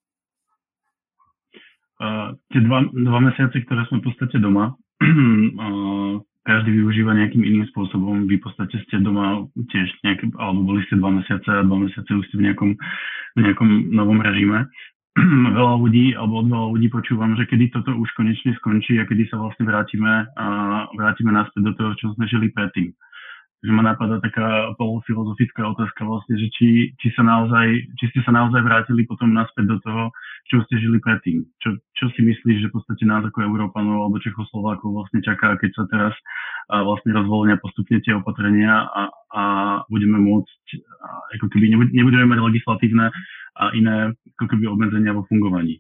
Tie dva mesiace, ktoré sme v podstate doma, každý využíva nejakým iným spôsobom. Vy v podstate ste doma tiež alebo boli ste 2 mesiace a 2 mesiace už ste v nejakom novom režime. Od veľa ľudí počúvam, že kedy toto už konečne skončí a kedy sa vlastne vrátime naspäť do toho, čo sme žili predtým. Takže ma napadá taká polofilozofická otázka vlastne, že či ste sa naozaj vrátili potom naspäť do toho, čo ste žili predtým. Čo si myslíš, že v podstate nás ako Európanov alebo Čechoslovákov vlastne čaká, keď sa teraz vlastne rozvoľnia postupne tie opatrenia a budeme môcť, ako keby nebudeme mať legislatívne a iné ako keby obmedzenia vo fungovaní.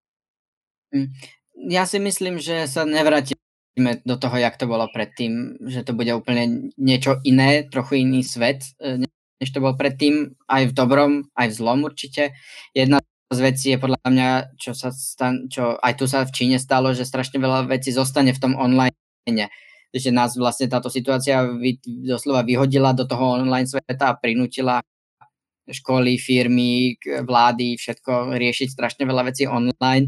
Ja si myslím, že sa nevrátime do toho, jak to bolo predtým, že to bude úplne niečo iné, trochu iný svet. než to bol predtým, aj v dobrom, aj v zlom určite. Jedna z vecí je podľa mňa, čo aj tu sa v Číne stalo, že strašne veľa vecí zostane v tom online. Že nás vlastne táto situácia doslova vyhodila do toho online sveta a prinútila školy, firmy, vlády, všetko riešiť strašne veľa vecí online.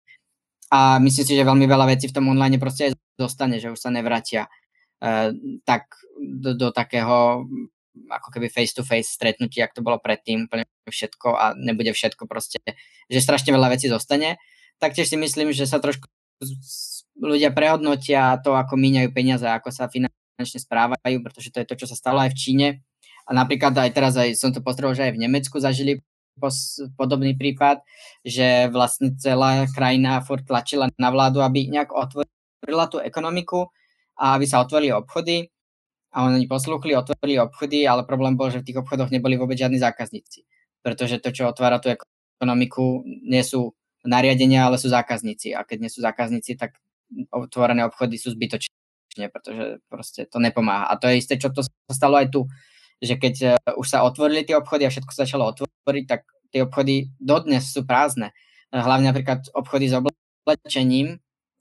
A myslím si, že veľmi veľa vecí v tom online proste aj zostane, že už sa nevrátia tak do takého ako keby face-to-face stretnutí, ak to bolo predtým, úplne všetko a nebude všetko proste, že strašne veľa vecí zostane. Taktiež si myslím, že sa trošku ľudia prehodnotia to, ako míňajú peniaze, ako sa finančne správajú, pretože to je to, čo sa stalo aj v Číne. A napríklad aj teraz som to postrehol, že aj v Nemecku zažili podobný prípad, že vlastne celá krajina furt tlačila na vládu, aby nejak otvorila tú ekonomiku a aby sa otvorili obchody. A oni poslúchli, otvorili obchody, ale problém bol, že v tých obchodoch neboli vôbec žiadni zákazníci. Pretože to, čo otvára tú ekonomiku, nie sú nariadenia, ale sú zákazníci. A keď nie sú zákazníci, tak otvorené obchody sú zbytočné, pretože proste to nepomáha. A to je isté, čo to sa stalo aj tu, že keď už sa otvorili tie obchody a všetko sa začalo otvoriť, tak tie obchody dodnes sú prázdne. Hlavne napríklad obchody s oblečením,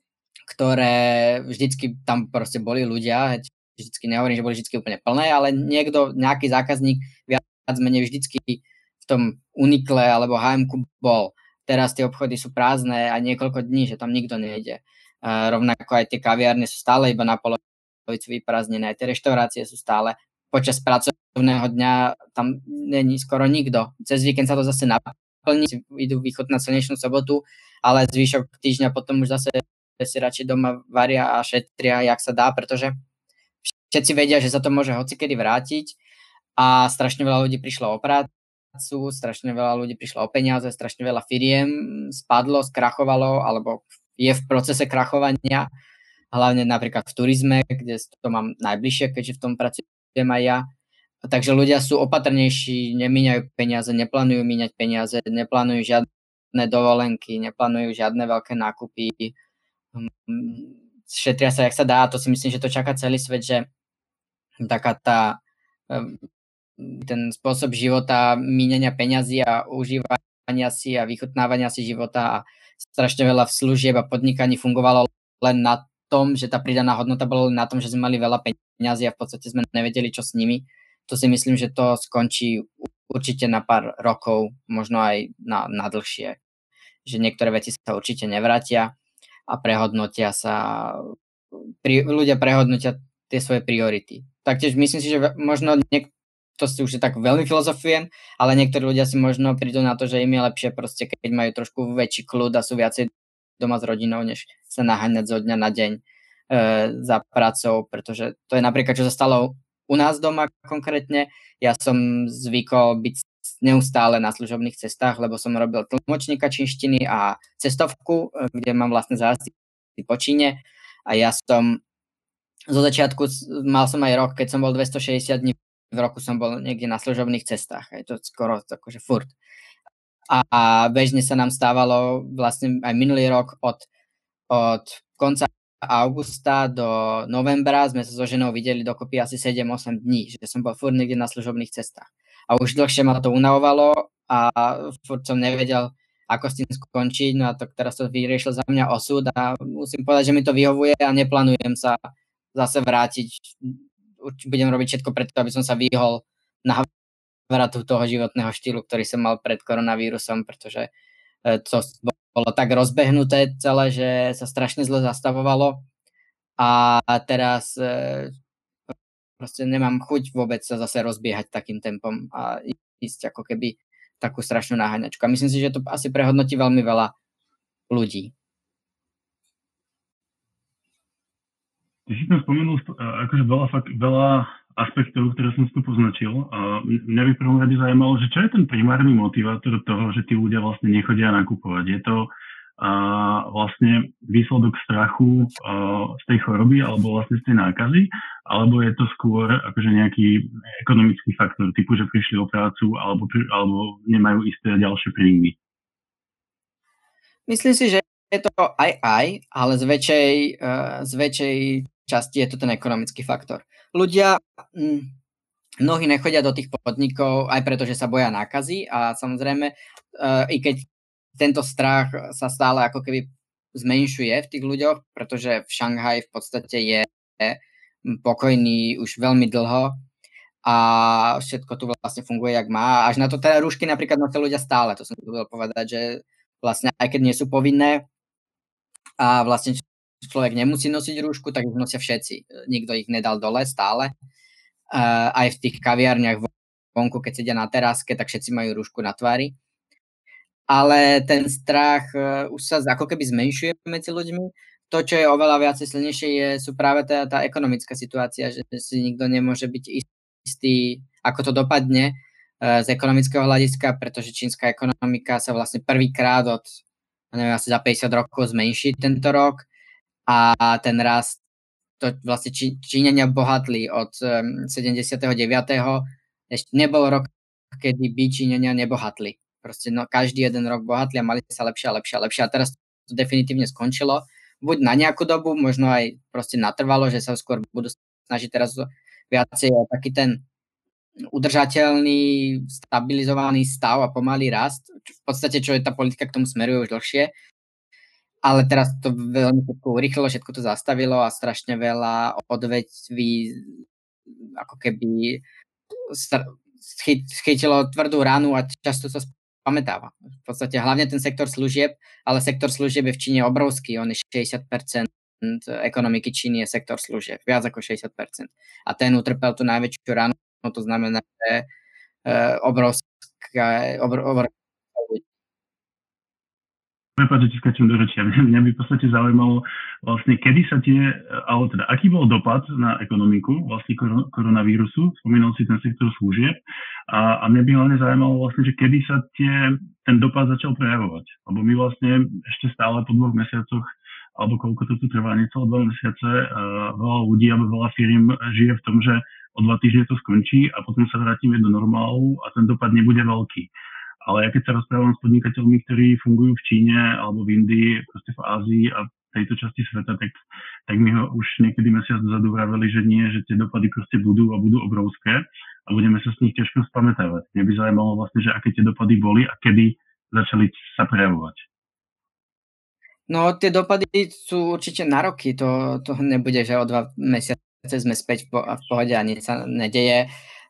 ktoré vždycky tam proste boli ľudia, vždycky nehovorím, že boli vždycky úplne plné, ale nejaký zákazník viac menej vždycky v tom Uniqle alebo H&M bol. Teraz tie obchody sú prázdne a niekoľko dní, že tam nikto nejde. Rovnako aj tie kaviárne sú stále iba na polovicu vyprázdnené, aj tie reštaurácie sú stále. Počas pracovného dňa tam není skoro nikto. Cez víkend sa to zase naplní, idú vychutnať slnečnú sobotu, ale zvyšok týždňa potom už zase si radšej doma varia a šetria, jak sa dá, pretože všetci vedia, že sa to môže hocikedy vrátiť a strašne veľa ľudí prišlo o prácu, strašne veľa ľudí prišlo o peniaze, strašne veľa firiem spadlo, skrachovalo alebo je v procese krachovania, hlavne napríklad v turizme, kde to mám najbližšie, keďže v tom pracujem aj ja. Takže ľudia sú opatrnejší, nemíňajú peniaze, neplánujú míňať peniaze, neplánujú žiadne dovolenky, neplánujú žiadne veľké nákupy, šetria sa, jak sa dá, a to si myslím, že to čaká celý svet, že taká ten spôsob života, míňania peňazí a užívania si a vychutnávania si života a strašne veľa služieb a podnikaní fungovalo len na tom, že tá pridaná hodnota bola len na tom, že sme mali veľa peňazí a v podstate sme nevedeli, čo s nimi. To si myslím, že to skončí určite na pár rokov, možno aj na dlhšie. Že niektoré veci sa určite nevrátia a ľudia prehodnotia tie svoje priority. Taktiež myslím si, že možno to si už tak veľmi filozofujem, ale niektorí ľudia si možno prídu na to, že im je lepšie proste, keď majú trošku väčší kľud a sú viacej doma s rodinou, než sa naháňať zo dňa na deň za pracou, pretože to je napríklad, čo sa stalo u nás doma konkrétne. Ja som zvykol byť neustále na služobných cestách, lebo som robil tlmočníka čínštiny a cestovku, kde mám vlastne zájazdy po Číne a ja som zo začiatku, mal som aj rok, keď som bol 260 dní v roku som bol niekde na služobných cestách, je to skoro akože furt. A bežne sa nám stávalo vlastne aj minulý rok od konca augusta do novembra sme sa so ženou videli dokopy asi 7-8 dní, že som bol furt niekde na služobných cestách. A už dlhšie ma to unavovalo a furt som nevedel, ako s tým skončiť, no a to teraz to vyriešil za mňa osud a musím povedať, že mi to vyhovuje a neplánujem sa zase vrátiť. Budem robiť všetko preto, aby som sa vyhol návratu toho životného štýlu, ktorý som mal pred koronavírusom, pretože to bolo tak rozbehnuté celé, že sa strašne zle zastavovalo a teraz proste nemám chuť vôbec sa zase rozbiehať takým tempom a ísť ako keby takú strašnú naháňačku. A myslím si, že to asi prehodnotí veľmi veľa ľudí. Ty si tam spomenul akože veľa aspektov, ktoré som si tu poznačil. Mňa by prvom rade zaujímalo, že čo je ten primárny motivátor toho, že tí ľudia vlastne nechodia nakupovať. Je to vlastne výsledok strachu z tej choroby alebo vlastne z tej nákazy, alebo je to skôr akože nejaký ekonomický faktor, typu, že prišli o prácu alebo nemajú isté ďalšie príjmy? Myslím si, že je to aj, ale z väčšej časti je to ten ekonomický faktor. Ľudia mnohí nechodia do tých podnikov aj preto, že sa boja nákazy a samozrejme, i keď tento strach sa stále ako keby zmenšuje v tých ľuďoch, pretože v Šanghaji v podstate je pokojný už veľmi dlho a všetko tu vlastne funguje, jak má. Až na to teda rúšky napríklad nosia ľudia stále, to som chcel povedať, že vlastne aj keď nie sú povinné a vlastne človek nemusí nosiť rúšku, tak ich nosia všetci. Nikto ich nedal dole stále. Aj v tých kaviarniach vonku, keď sedia na teráske, tak všetci majú rúšku na tvári. Ale ten strach už sa ako keby zmenšuje medzi ľuďmi. To, čo je oveľa viacej silnejšie, sú práve tá ekonomická situácia, že si nikto nemôže byť istý, ako to dopadne z ekonomického hľadiska, pretože čínska ekonomika sa vlastne prvýkrát od, neviem, asi za 50 rokov zmenší tento rok a ten rast, to vlastne Číňania bohatli od 79. Ešte nebol rok, kedy by Číňania nebohatli. Proste každý jeden rok bohatli a mali sa lepšie a lepšie a lepšie. A teraz to definitívne skončilo. Buď na nejakú dobu, možno aj proste natrvalo, že sa skôr budú snažiť teraz viacej o taký ten udržateľný, stabilizovaný stav a pomalý rast. V podstate, čo je tá politika k tomu smeruje už dlhšie. Ale teraz to veľmi urýchlilo, všetko to zastavilo a strašne veľa odvetví ako keby chytilo tvrdú ránu a často sa pamätáva. V podstate hlavne ten sektor služieb, ale sektor služieb je v Číne obrovský. On je 60% ekonomiky Číny je sektor služieb. Viac ako 60%. A ten utrpel tú najväčšiu ránu. To znamená, že obrovská Prepáč, že ti skáčem do rečia. Mňa by v podstate zaujímalo vlastne, kedy sa alebo teda, aký bol dopad na ekonomiku vlastne koronavírusu, spomínal si ten sektor služieb a mňa by hlavne zaujímalo vlastne, že kedy sa ten dopad začal prejavovať. Lebo my vlastne ešte stále po 2 mesiacoch, alebo koľko to tu trvá, necelé 2 mesiace, veľa ľudí alebo veľa firiem žije v tom, že o 2 týždne to skončí a potom sa vrátime do normálu a ten dopad nebude veľký. Ale ja keď sa rozprávam s podnikateľmi, ktorí fungujú v Číne alebo v Indii, proste v Ázii a tejto časti sveta, tak mi ho už niekedy mesiac dozadu vraveli, že nie, že tie dopady proste budú obrovské a budeme sa s nich ťažko spamätávať. Mňa by zaujímalo vlastne, že aké tie dopady boli a kedy začali sa prejavovať. No, tie dopady sú určite na roky. To nebude, že o 2 mesiace sme späť v pohode a nič sa nedeje.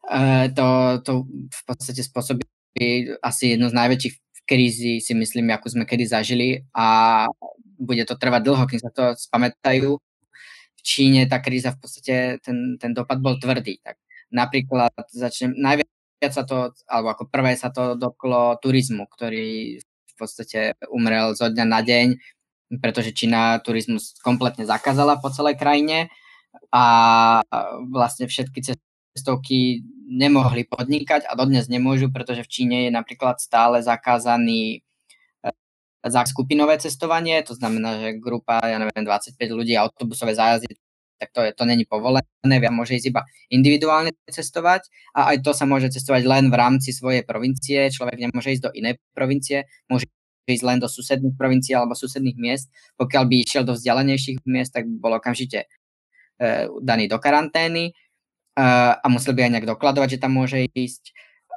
To v podstate spôsobí asi jednu z najväčších krízy, si myslím, akú sme kedy zažili a bude to trvať dlho, kým sa to spamätajú. V Číne tá kríza v podstate, ten dopad bol tvrdý. Tak napríklad najviac sa to, alebo ako prvé sa to dotklo turizmu, ktorý v podstate umrel zo dňa na deň, pretože Čína turizmus kompletne zakázala po celej krajine a vlastne všetky cestovky nemohli podnikať a dodnes nemôžu, pretože v Číne je napríklad stále zakázaný skupinové cestovanie, to znamená, že grupa, 25 ľudí, autobusové zájazdy, tak to není povolené, môže ísť iba individuálne cestovať a aj to sa môže cestovať len v rámci svojej provincie, človek nemôže ísť do inej provincie, môže ísť len do susedných provincií alebo susedných miest, pokiaľ by išiel do vzdialenejších miest, tak by bol okamžite daný do karantény a musel by aj nejak dokladovať, že tam môže ísť.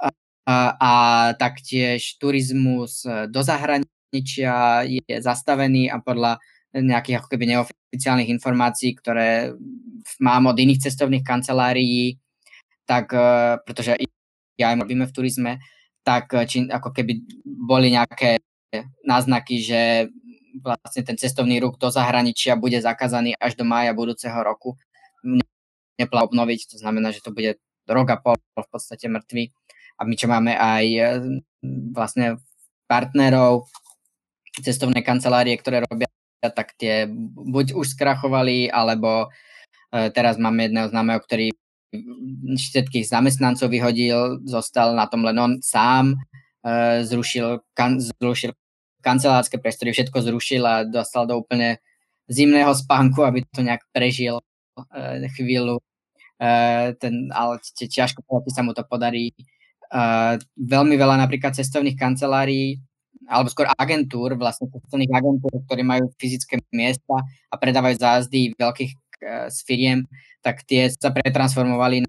A taktiež turizmus do zahraničia je zastavený a podľa nejakých ako keby neoficiálnych informácií, ktoré mám od iných cestovných kancelárií, tak pretože ja aj robíme v turizme, tak ako keby boli nejaké náznaky, že vlastne ten cestovný ruch do zahraničia bude zakázaný až do mája budúceho roku. Obnoviť, to znamená, že to bude rok a pol v podstate mŕtvy. A my čo máme aj vlastne partnerov, cestovné kancelárie, ktoré robia, tak tie buď už skrachovali, alebo teraz máme jedného známeho, ktorý všetkých zamestnancov vyhodil, zostal na tom len on sám, zrušil kancelárske priestory, všetko zrušil a dostal do úplne zimného spánku, aby to nejak prežil chvíľu. Ale ťažko sa mu to podarí. Veľmi veľa napríklad cestovných kancelárií alebo skôr agentúr, vlastne cestovných agentúr, ktorí majú fyzické miesta a predávajú zájazdy veľkých z firiem, tak tie sa pretransformovali na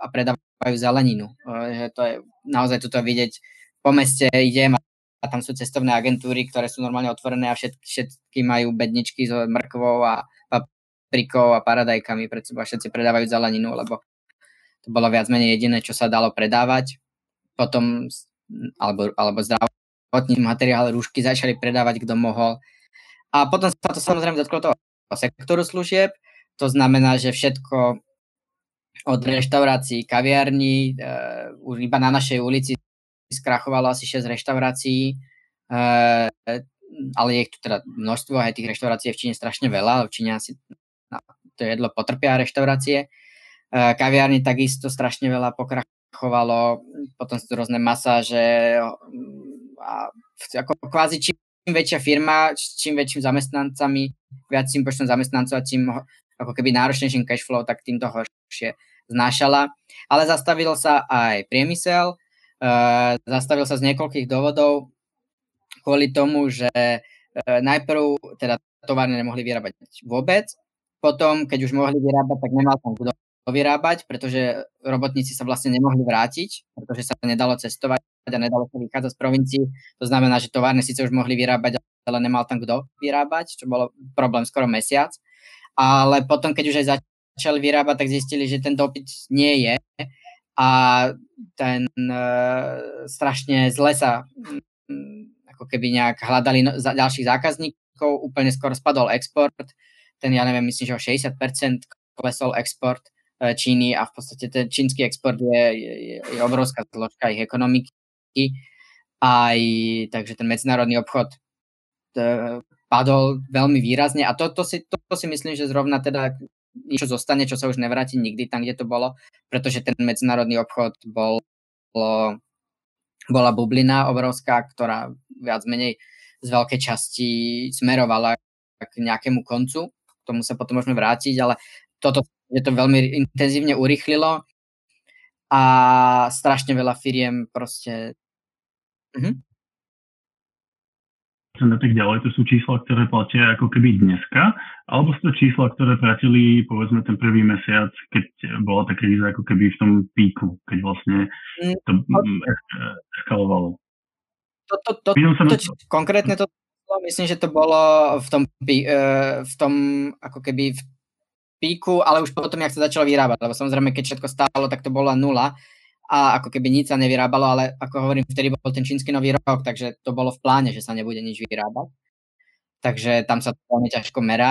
a predávajú zeleninu. Že to je naozaj tuto vidieť, po meste idem a tam sú cestovné agentúry, ktoré sú normálne otvorené a všetky majú bedničky s mrkvou a paprikou a paradajkami pred sebou a všetci predávajú zeleninu, lebo to bolo viac menej jediné, čo sa dalo predávať. Potom, alebo zdravotný materiál, rúšky začali predávať, kto mohol. A potom sa to samozrejme dotklo toho sektoru služieb, to znamená, že všetko od reštaurácií, kaviarní, iba na našej ulici skrachovalo asi 6 reštaurácií, ale je ich tu teda množstvo, aj tých reštaurácií je v Číne strašne veľa, v Číne asi to jedlo potrpia reštaurácie. Kaviarní takisto strašne veľa pokrachovalo, potom sú tu rôzne masáže a ako kvázi čím väčšia firma, čím väčším zamestnancami, viacím počtom zamestnancov a čím ako keby náročnejším cashflow, tak tým to horšie znášala. Ale zastavil sa aj priemysel, zastavil sa z niekoľkých dôvodov kvôli tomu, že najprv teda továrne nemohli vyrábať vôbec, potom, keď už mohli vyrábať, tak nemal tam kto vyrábať, pretože robotníci sa vlastne nemohli vrátiť, pretože sa nedalo cestovať a nedalo sa vychádzať z provincií. To znamená, že továrne síce už mohli vyrábať, ale nemal tam kto vyrábať, čo bolo problém skoro mesiac. Ale potom, keď už aj začali vyrábať, tak zistili, že ten dopyt nie je a ten strašne zle sa ako keby nejak hľadali ďalších zákazníkov, úplne skoro spadol export, ten ja neviem, myslím, že o 60% klesol export Číny a v podstate ten čínsky export je obrovská zložka ich ekonomiky. Takže ten medzinárodný obchod padol veľmi výrazne a to si myslím, že zrovna teda niečo zostane, čo sa už nevráti nikdy tam, kde to bolo, pretože ten medzinárodný obchod bola bublina obrovská, ktorá viac menej z veľkej časti smerovala k nejakému koncu. K tomu sa potom môžeme vrátiť, ale toto je to veľmi intenzívne urýchlilo a strašne veľa firiem proste... A tak ďalej, to sú čísla, ktoré platia ako keby dneska, alebo sú to čísla, ktoré platili povedzme ten prvý mesiac, keď bola tá kríza ako keby v tom píku, keď vlastne to eskalovalo. Konkrétne to myslím, že to bolo v tom ako keby v píku, ale už potom, jak sa začalo vyrábať, lebo samozrejme, keď všetko stálo, tak to bola nula a ako keby nič sa nevyrábalo, ale ako hovorím, vtedy bol ten čínsky nový rok, takže to bolo v pláne, že sa nebude nič vyrábať. Takže tam sa to veľmi ťažko merá.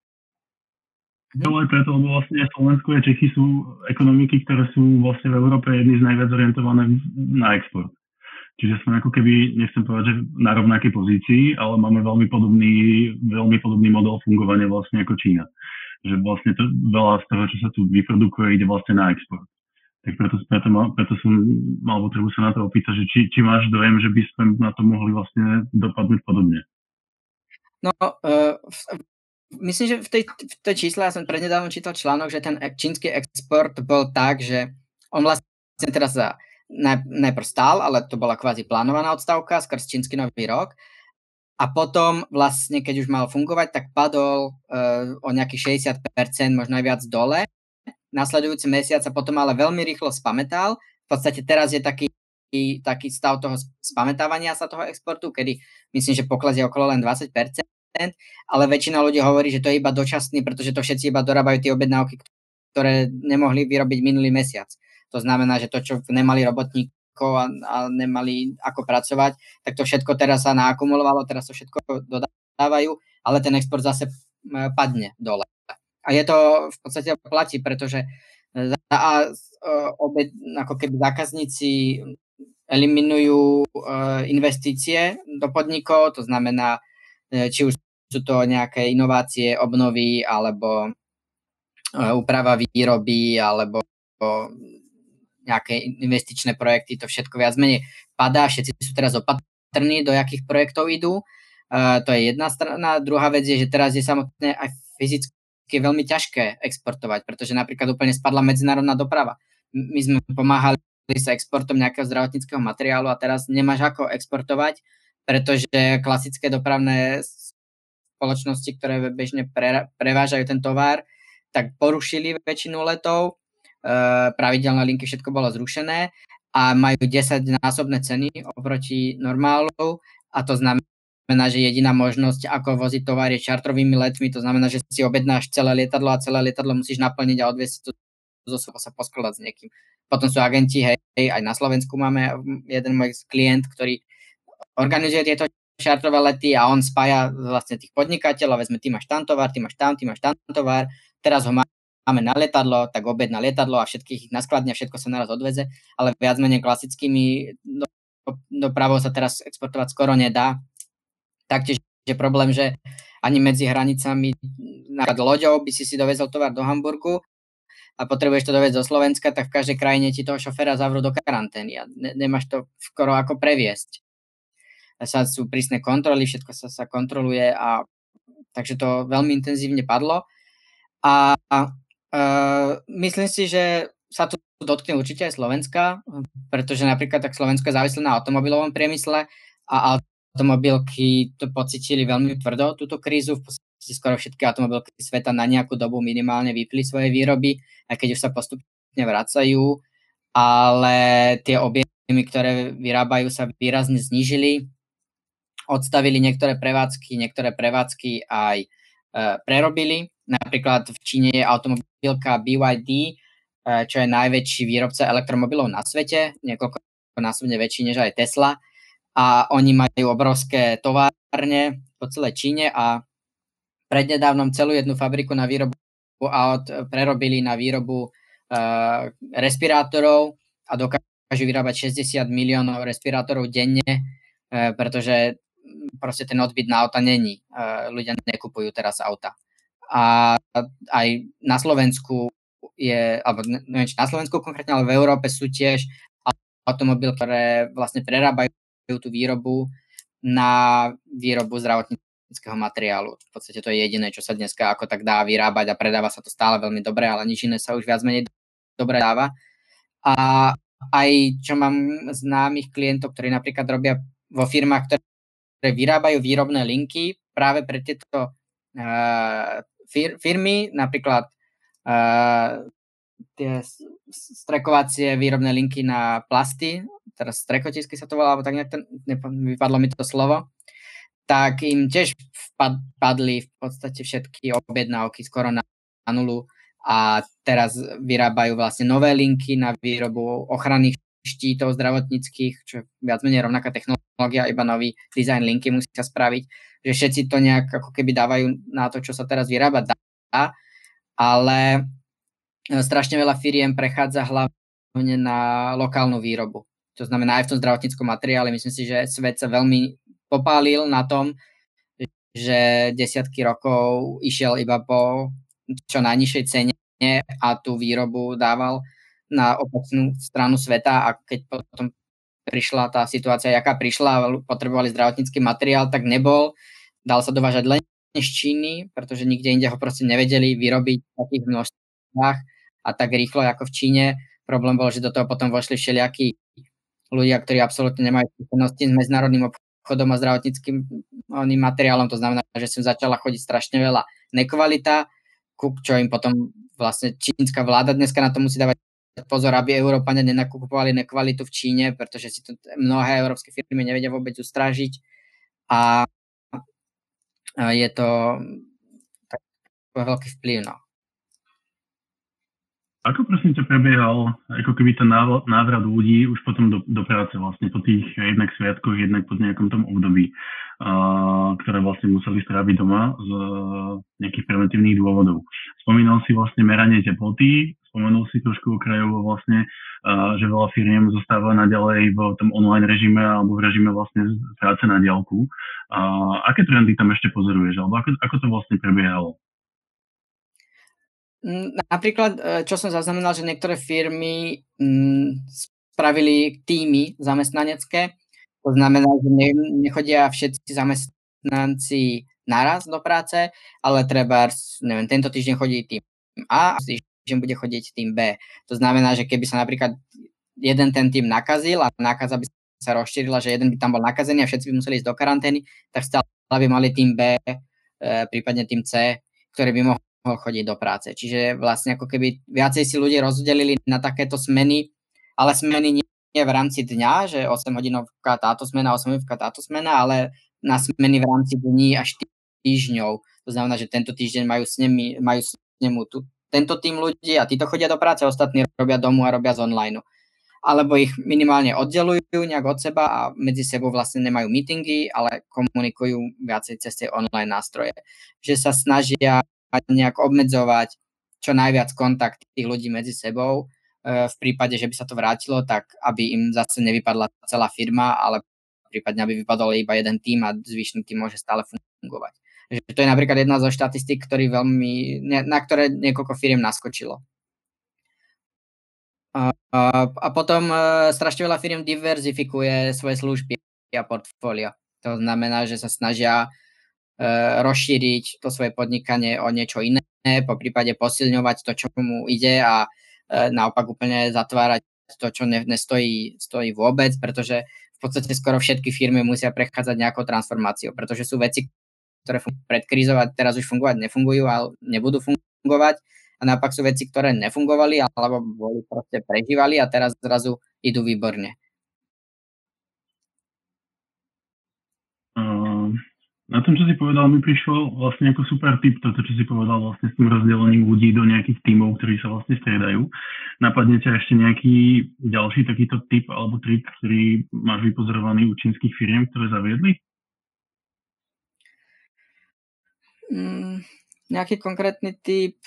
Ale preto, lebo vlastne Slovensko a Čechy sú ekonomiky, ktoré sú vlastne v Európe jedny z najviac orientované na export. Čiže sme ako keby, nechcem povedať, že na rovnakej pozícii, ale máme veľmi podobný model fungovania vlastne ako Čína. Že vlastne to, veľa z toho, čo sa tu vyprodukuje, ide vlastne na export. Tak preto som mal potrebu sa na to opýtať, že či máš dojem, že by sme na to mohli vlastne dopadnúť podobne. No, myslím, že v tej čísle, ja som prednedávno čítal článok, že ten čínsky export bol tak, že on vlastne teraz najprv stál, ale to bola kvázi plánovaná odstávka skrz čínsky nový rok. A potom vlastne, keď už mal fungovať, tak padol o nejakých 60%, možno aj viac dole. Nasledujúci mesiac sa potom ale veľmi rýchlo spamätal. V podstate teraz je taký stav toho spamätávania sa toho exportu, kedy myslím, že pokles je okolo len 20%, ale väčšina ľudí hovorí, že to je iba dočasný, pretože to všetci iba dorábajú tie objednávky, ktoré nemohli vyrobiť minulý mesiac. To znamená, že to, čo nemali robotníkov a nemali ako pracovať, tak to všetko teraz sa naakumulovalo, teraz to všetko dodávajú, ale ten export zase padne dole. A je to v podstate platí, pretože ako keby zákazníci eliminujú investície do podnikov, to znamená, či už sú to nejaké inovácie, obnovy, alebo úprava výroby, alebo nejaké investičné projekty, to všetko viac menej padá, všetci sú teraz opatrní, do jakých projektov idú. To je jedna strana. Druhá vec je, že teraz je samotné aj fyzicky je veľmi ťažké exportovať, pretože napríklad úplne spadla medzinárodná doprava. My sme pomáhali sa exportom nejakého zdravotníckeho materiálu a teraz nemáš ako exportovať, pretože klasické dopravné spoločnosti, ktoré bežne prevážajú ten tovar, tak porušili väčšinu letov pravidelné linky, všetko bolo zrušené a majú 10-násobné ceny oproti normálu a to znamená, že jediná možnosť, ako voziť tovar je čartrovými letmi, to znamená, že si objednáš celé lietadlo a celé lietadlo musíš naplniť a odviesť to sa poskladať s niekým. Potom sú agenti, hej, aj na Slovensku máme jeden môj klient, ktorý organizuje tieto čartrové lety a on spája vlastne tých podnikateľov, vezme, ty máš tam tovar, ty máš tam tovar, teraz ho máme na lietadlo, tak objedná lietadlo a všetkých ich naskladne, všetko sa naraz odveze, ale viac menej klasickými dopravou sa teraz exportovať skoro nedá. Taktiež je problém, že ani medzi hranicami napríklad loďou by si dovezol tovar do Hamburgu a potrebuješ to doviezť do Slovenska, tak v každej krajine ti toho šoféra zavrú do karantény a nemáš to skoro ako previesť. Sú prísne kontroly, všetko sa kontroluje a takže to veľmi intenzívne padlo a myslím si, že sa tu dotkne určite aj Slovenska, pretože napríklad tak Slovensko je závislé na automobilovom priemysle a automobilky to pocítili veľmi tvrdo, túto krízu. V podstate skoro všetky automobilky sveta na nejakú dobu minimálne vypli svoje výroby, aj keď už sa postupne vracajú, ale tie objemy, ktoré vyrábajú, sa výrazne znížili. Odstavili niektoré prevádzky aj prerobili. Napríklad v Číne je automobilka BYD, čo je najväčší výrobca elektromobilov na svete, niekoľkonásobne väčší než aj Tesla. A oni majú obrovské továrne po celej Číne a prednedávnom celú jednu fabriku na výrobu aut prerobili na výrobu respirátorov a dokážu vyrábať 60 miliónov respirátorov denne, pretože proste ten odbyt na auta není. Ľudia nekupujú teraz auta. A aj na Slovensku alebo neviem, či na Slovensku konkrétne, ale v Európe sú tiež automobily, ktoré vlastne prerábajú tú výrobu na výrobu zdravotníckeho materiálu. V podstate to je jediné, čo sa dneska ako tak dá vyrábať a predáva sa to stále veľmi dobre, ale nič iné sa už viac menej dobre dáva. A aj čo mám známych klientov, ktorí napríklad robia vo firmách, ktoré vyrábajú výrobné linky práve pre tieto firmy, napríklad tie strekovacie výrobné linky na plasty, teraz strekotisky sa to volá, alebo tak vypadlo mi to slovo, tak im tiež padli v podstate všetky objednávky skoro na nulu a teraz vyrábajú vlastne nové linky na výrobu ochranných štítov zdravotníckých, čo je viac menej rovnaká technológia, iba nový dizajn linky musia spraviť, že všetci to nejak ako keby dávajú na to, čo sa teraz vyrábať dá, ale strašne veľa firiem prechádza hlavne na lokálnu výrobu. To znamená aj v tom zdravotníckom materiále. Myslím si, že svet sa veľmi popálil na tom, že desiatky rokov išiel iba po čo najnižšej cene a tú výrobu dával na opačnú stranu sveta a keď potom prišla tá situácia, jaká prišla a potrebovali zdravotnícky materiál, tak nebol. Dal sa dovážať len z Číny, pretože nikde inde ho proste nevedeli vyrobiť v takých množstvách a tak rýchlo ako v Číne. Problém bol, že do toho potom vošli všelijakí ľudia, ktorí absolútne nemajú skúsenosti s medzinárodným obchodom a zdravotníckym materiálom. To znamená, že som začala chodiť strašne veľa nekvalita, čo im potom vlastne čínska vláda dneska na to musí dávať pozor, aby Európania nenakupovali nekvalitu v Číne, pretože si to mnohé európske firmy nevedia vôbec ustrážiť a je to tak veľký vplyv. No. Ako prosím ťa prebiehal ako keby ten návrat ľudí už potom do práce vlastne po tých jednak sviatkoch, jednak po nejakom tom období, ktoré vlastne museli stráviť doma z nejakých preventívnych dôvodov. Spomínal si vlastne meranie teploty, spomenul si trošku okrajovo vlastne, že veľa firiem zostáva naďalej v tom online režime alebo v režime vlastne práce na diaľku. Aké trendy tam ešte pozoruješ? Alebo ako to vlastne prebiehalo? Napríklad, čo som zaznamenal, že niektoré firmy spravili týmy zamestnanecké. To znamená, že nechodia všetci zamestnanci naraz do práce, ale treba, neviem, tento týždeň chodí tým A, týždeň bude chodiť tým B. To znamená, že keby sa napríklad jeden ten tým nakazil a nákaza by sa rozšírila, že jeden by tam bol nakazený a všetci by museli ísť do karantény, tak stále by mali tým B, prípadne tým C, ktorý by mohol chodiť do práce. Čiže vlastne ako keby viacej si ľudia rozdelili na takéto smeny, ale smeny nie v rámci dňa, že 8 hodinovka táto smena, 8 hodinovka táto smena, ale na smeny v rámci dní až týždňov. To znamená, že tento týždeň majú s nemu tento tým ľudí a títo chodia do práce, ostatní robia domu a robia z online. Alebo ich minimálne oddelujú nejak od seba a medzi sebou vlastne nemajú meetingy, ale komunikujú viacej cez tie online nástroje. Že sa snažia nejak obmedzovať čo najviac kontakt tých ľudí medzi sebou. V prípade, že by sa to vrátilo, tak aby im zase nevypadla celá firma, ale prípadne aby vypadol iba jeden tým a zvyšný tým môže stále fungovať. Že to je napríklad jedna zo štatistík, na ktoré niekoľko firiem naskočilo. A potom strašne veľa firiem diverzifikuje svoje služby a portfólio. To znamená, že sa snažia rozšíriť to svoje podnikanie o niečo iné, po prípade posilňovať to, čo mu ide a naopak úplne zatvárať to, čo stojí vôbec, pretože v podstate skoro všetky firmy musia prechádzať nejakou transformáciou, pretože sú veci, ktoré pred krízou a teraz už nefungujú a nebudú fungovať. A naopak sú veci, ktoré nefungovali alebo boli proste prežívali a teraz zrazu idú výborne. Na tom, čo si povedal, mi prišlo vlastne ako super tip toto, čo si povedal vlastne s tým rozdelením ľudí do nejakých tímov, ktorí sa vlastne striedajú. Napadne ťa ešte nejaký ďalší takýto tip alebo trik, ktorý máš vypozorovaný u čínskych firiem, ktoré zaviedli? Nejaký konkrétny tip...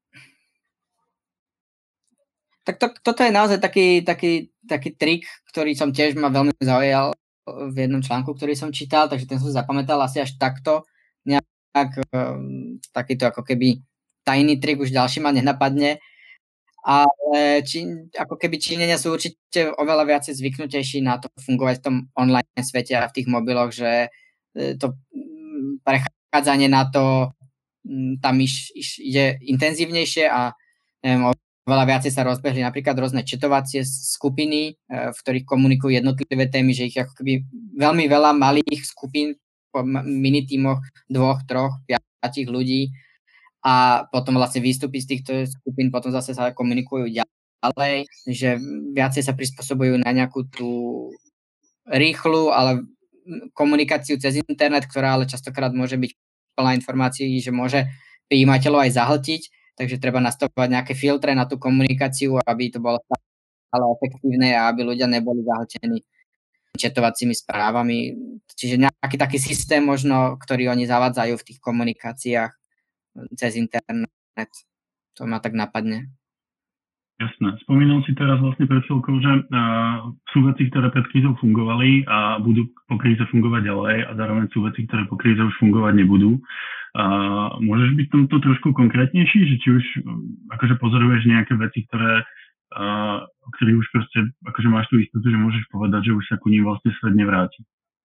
Tak toto je naozaj taký trik, ktorý som tiež ma veľmi zaujal v jednom článku, ktorý som čítal, takže ten som zapamätal asi až takto. Nejak takýto ako keby tajný trik už ďalší ma nenapadne. Ale ako keby Číňania sú určite oveľa viacej zvyknutejší na to fungovať v tom online svete a v tých mobiloch, že to prechádzanie na to tam ide intenzívnejšie a neviem, veľa viacej sa rozbehli napríklad rôzne četovacie skupiny, v ktorých komunikujú jednotlivé témy, že ich ako keby veľmi veľa malých skupín po minitímoch 2, 3, 5 ľudí a potom vlastne výstupy z týchto skupín potom zase sa komunikujú ďalej, že viacej sa prispôsobujú na nejakú tú rýchlu, ale komunikáciu cez internet, ktorá ale častokrát môže byť plná informácií, že môže prijímateľov aj zahltiť. Takže treba nastavovať nejaké filtre na tú komunikáciu, aby to bolo stále efektívne a aby ľudia neboli zahltení chatovacími správami. Čiže nejaký taký systém možno, ktorý oni zavádzajú v tých komunikáciách cez internet. To ma tak napadne. Jasné. Spomínal si teraz vlastne pred chvíľkou, že sú veci, ktoré pred krízou fungovali a budú po kríze fungovať ďalej a zároveň sú veci, ktoré po kríze už fungovať nebudú. Môžeš byť tomto trošku konkrétnejší, že či už akože pozoruješ nejaké veci, o ktorých už proste akože máš tú istotu, že môžeš povedať, že už sa ku ním vlastne svet nevráti.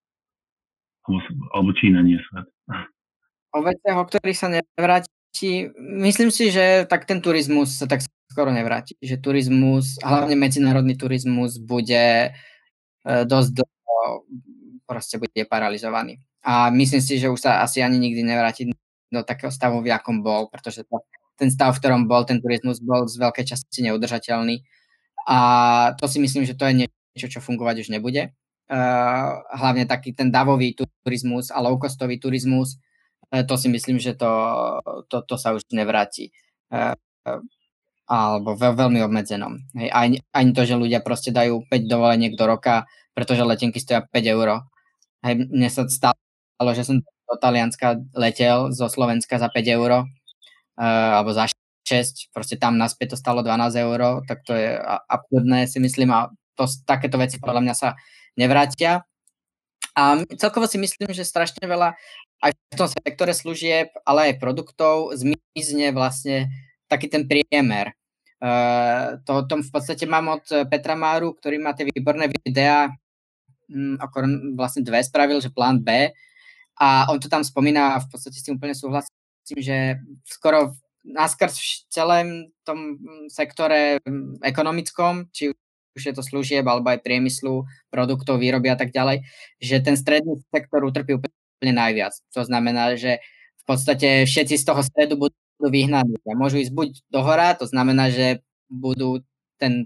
Alebo Čína, nie svet. O veciach, o ktorých sa nevráti, myslím si, že tak ten turizmus sa tak skoro nevráti. Že turizmus, hlavne medzinárodný turizmus bude dosť proste bude paralizovaný. A myslím si, že už sa asi ani nikdy nevráti do takého stavu, v akom bol, pretože ten stav, v ktorom bol ten turizmus, bol z veľkej časti neudržateľný. A to si myslím, že to je niečo, čo fungovať už nebude. Hlavne taký ten davový turizmus a low-costový turizmus, to si myslím, že to sa už nevráti. Alebo veľmi obmedzenom. Hej, ani to, že ľudia proste dajú 5 dovoleniek do roka, pretože letenky stoja 5 €. Hej, mne sa stalo, že som do Talianska letel zo Slovenska za 5 €, alebo za 6, proste tam naspäť to stalo 12 €, tak to je absurdné, si myslím, a takéto veci podľa mňa sa nevrátia. A celkovo si myslím, že strašne veľa aj v tom sektore služieb, ale aj produktov zmizne vlastne taký ten priemer. To v podstate mám od Petra Máru, ktorý má tie výborné videá, vlastne 2 spravil, že plán B, a on to tam spomína a v podstate s tým úplne súhlasím, že skoro naskrz v celém tom sektore ekonomickom, či už je to služieb alebo aj priemyslu, produktov, výroby a tak ďalej, že ten stredný sektor utrpí úplne najviac. To znamená, že v podstate všetci z toho stredu budú vyhnaní a môžu ísť buď do hora, to znamená, že budú ten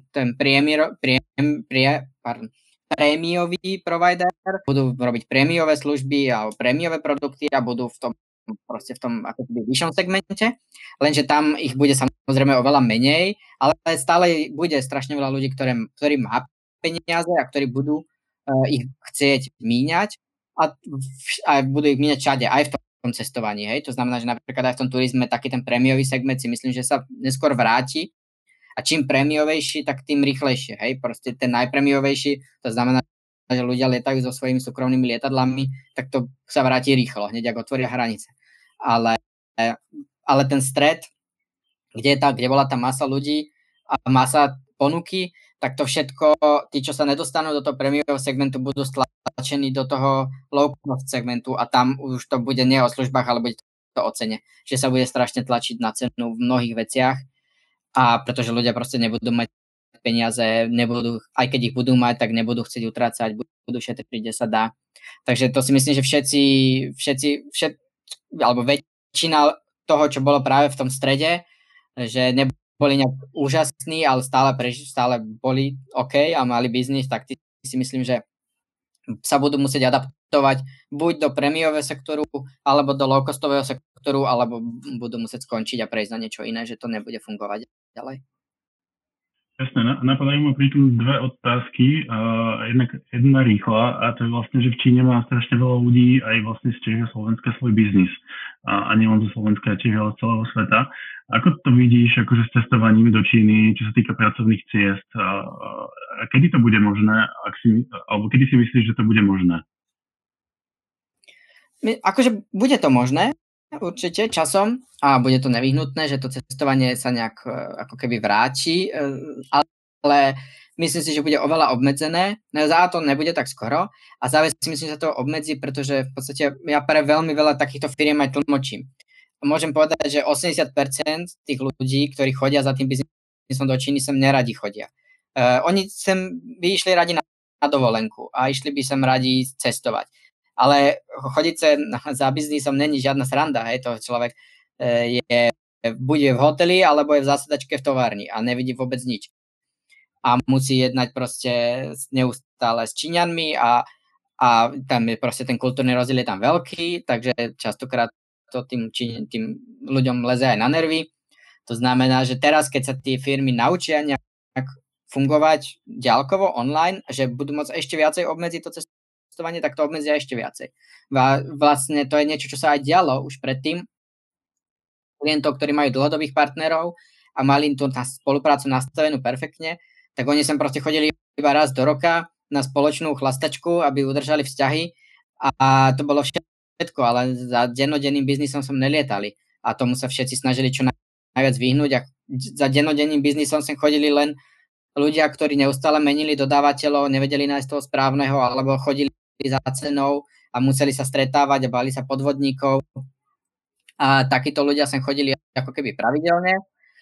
prémiový provider, budú robiť prémiové služby alebo prémiové produkty a budú v tom ako vyššom segmente, lenže tam ich bude samozrejme oveľa menej, ale stále bude strašne veľa ľudí, ktorí má peniaze a ktorí budú ich chcieť míňať a budú ich míňať všade, aj v tom cestovaní, hej, to znamená, že napríklad aj v tom turizme taký ten prémiový segment si myslím, že sa neskôr vráti a čím prémiovejší, tak tým rýchlejšie, hej, proste ten najprémiovejší, to znamená, že ľudia lietajú so svojimi súkromnými lietadlami, tak to sa vráti rýchlo, hneď ako otvoria hranice. Ale ten stred, kde bola tá masa ľudí a masa ponuky, tak to všetko, tí, čo sa nedostanú do toho prémiového segmentu, budú stlačení do toho low-cost segmentu a tam už to bude nie o službách, ale bude to o cene. Že sa bude strašne tlačiť na cenu v mnohých veciach a pretože ľudia proste nebudú mať peniaze, aj keď ich budú mať, tak nebudú chcieť utrácať, budú šetriť, kde sa dá. Takže to si myslím, že všetci alebo väčšina toho, čo bolo práve v tom strede, že neboli nejak úžasní, ale stále boli OK a mali biznis, tak si myslím, že sa budú musieť adaptovať buď do prémiového sektoru, alebo do low-costového sektoru, alebo budú musieť skončiť a prejsť na niečo iné, že to nebude fungovať ďalej. Jasné, napadajú ma pri tom dve otázky. Jedna rýchla a to je vlastne, že v Číne má strašne veľa ľudí aj vlastne z Čech a Slovenska svoj biznis. A nielen zo Slovenska, Čech, ale z celého sveta. Ako to vidíš akože s cestovaním do Číny, čo sa týka pracovných ciest? A kedy to bude možné? Alebo kedy si myslíš, že to bude možné? Akože bude to možné, určite časom a bude to nevyhnutné, že to cestovanie sa nejak ako keby vráti, ale myslím si, že bude oveľa obmedzené. Za to nebude tak skoro a zároveň si myslím, že sa to obmedzí, pretože v podstate ja pre veľmi veľa takýchto firiem aj tlmočím. Môžem povedať, že 80% tých ľudí, ktorí chodia za tým biznisom do Číny, sem neradi chodia. Oni sem by išli radi na dovolenku a išli by sem radi cestovať. Ale chodiť za biznisom není žiadna sranda, hej, to človek bude v hoteli, alebo je v zásedačke v továrni a nevidí vôbec nič. A musí jednať proste neustále s Číňanmi a tam je proste ten kultúrny rozdiel je tam veľký, takže častokrát to tým ľuďom leze aj na nervy. To znamená, že teraz, keď sa tie firmy naučia nejak fungovať ďalkovo online, že budú môcť ešte viacej obmedziť to cestovanie, tak to obmedzia ešte viacej. Vlastne to je niečo, čo sa aj dialo už predtým. Klientov, ktorí majú dlhodobých partnerov a mali tú spoluprácu nastavenú perfektne, tak oni sem proste chodili iba raz do roka na spoločnú chlastačku, aby udržali vzťahy a to bolo všetko, ale za dennodenným biznisom som nelietali a tomu sa všetci snažili čo najviac vyhnúť a za dennodenným biznisom sem chodili len ľudia, ktorí neustále menili dodávateľov, nevedeli nájsť toho správneho alebo chodili za cenou a museli sa stretávať a báli sa podvodníkov. A takíto ľudia sem chodili ako keby pravidelne,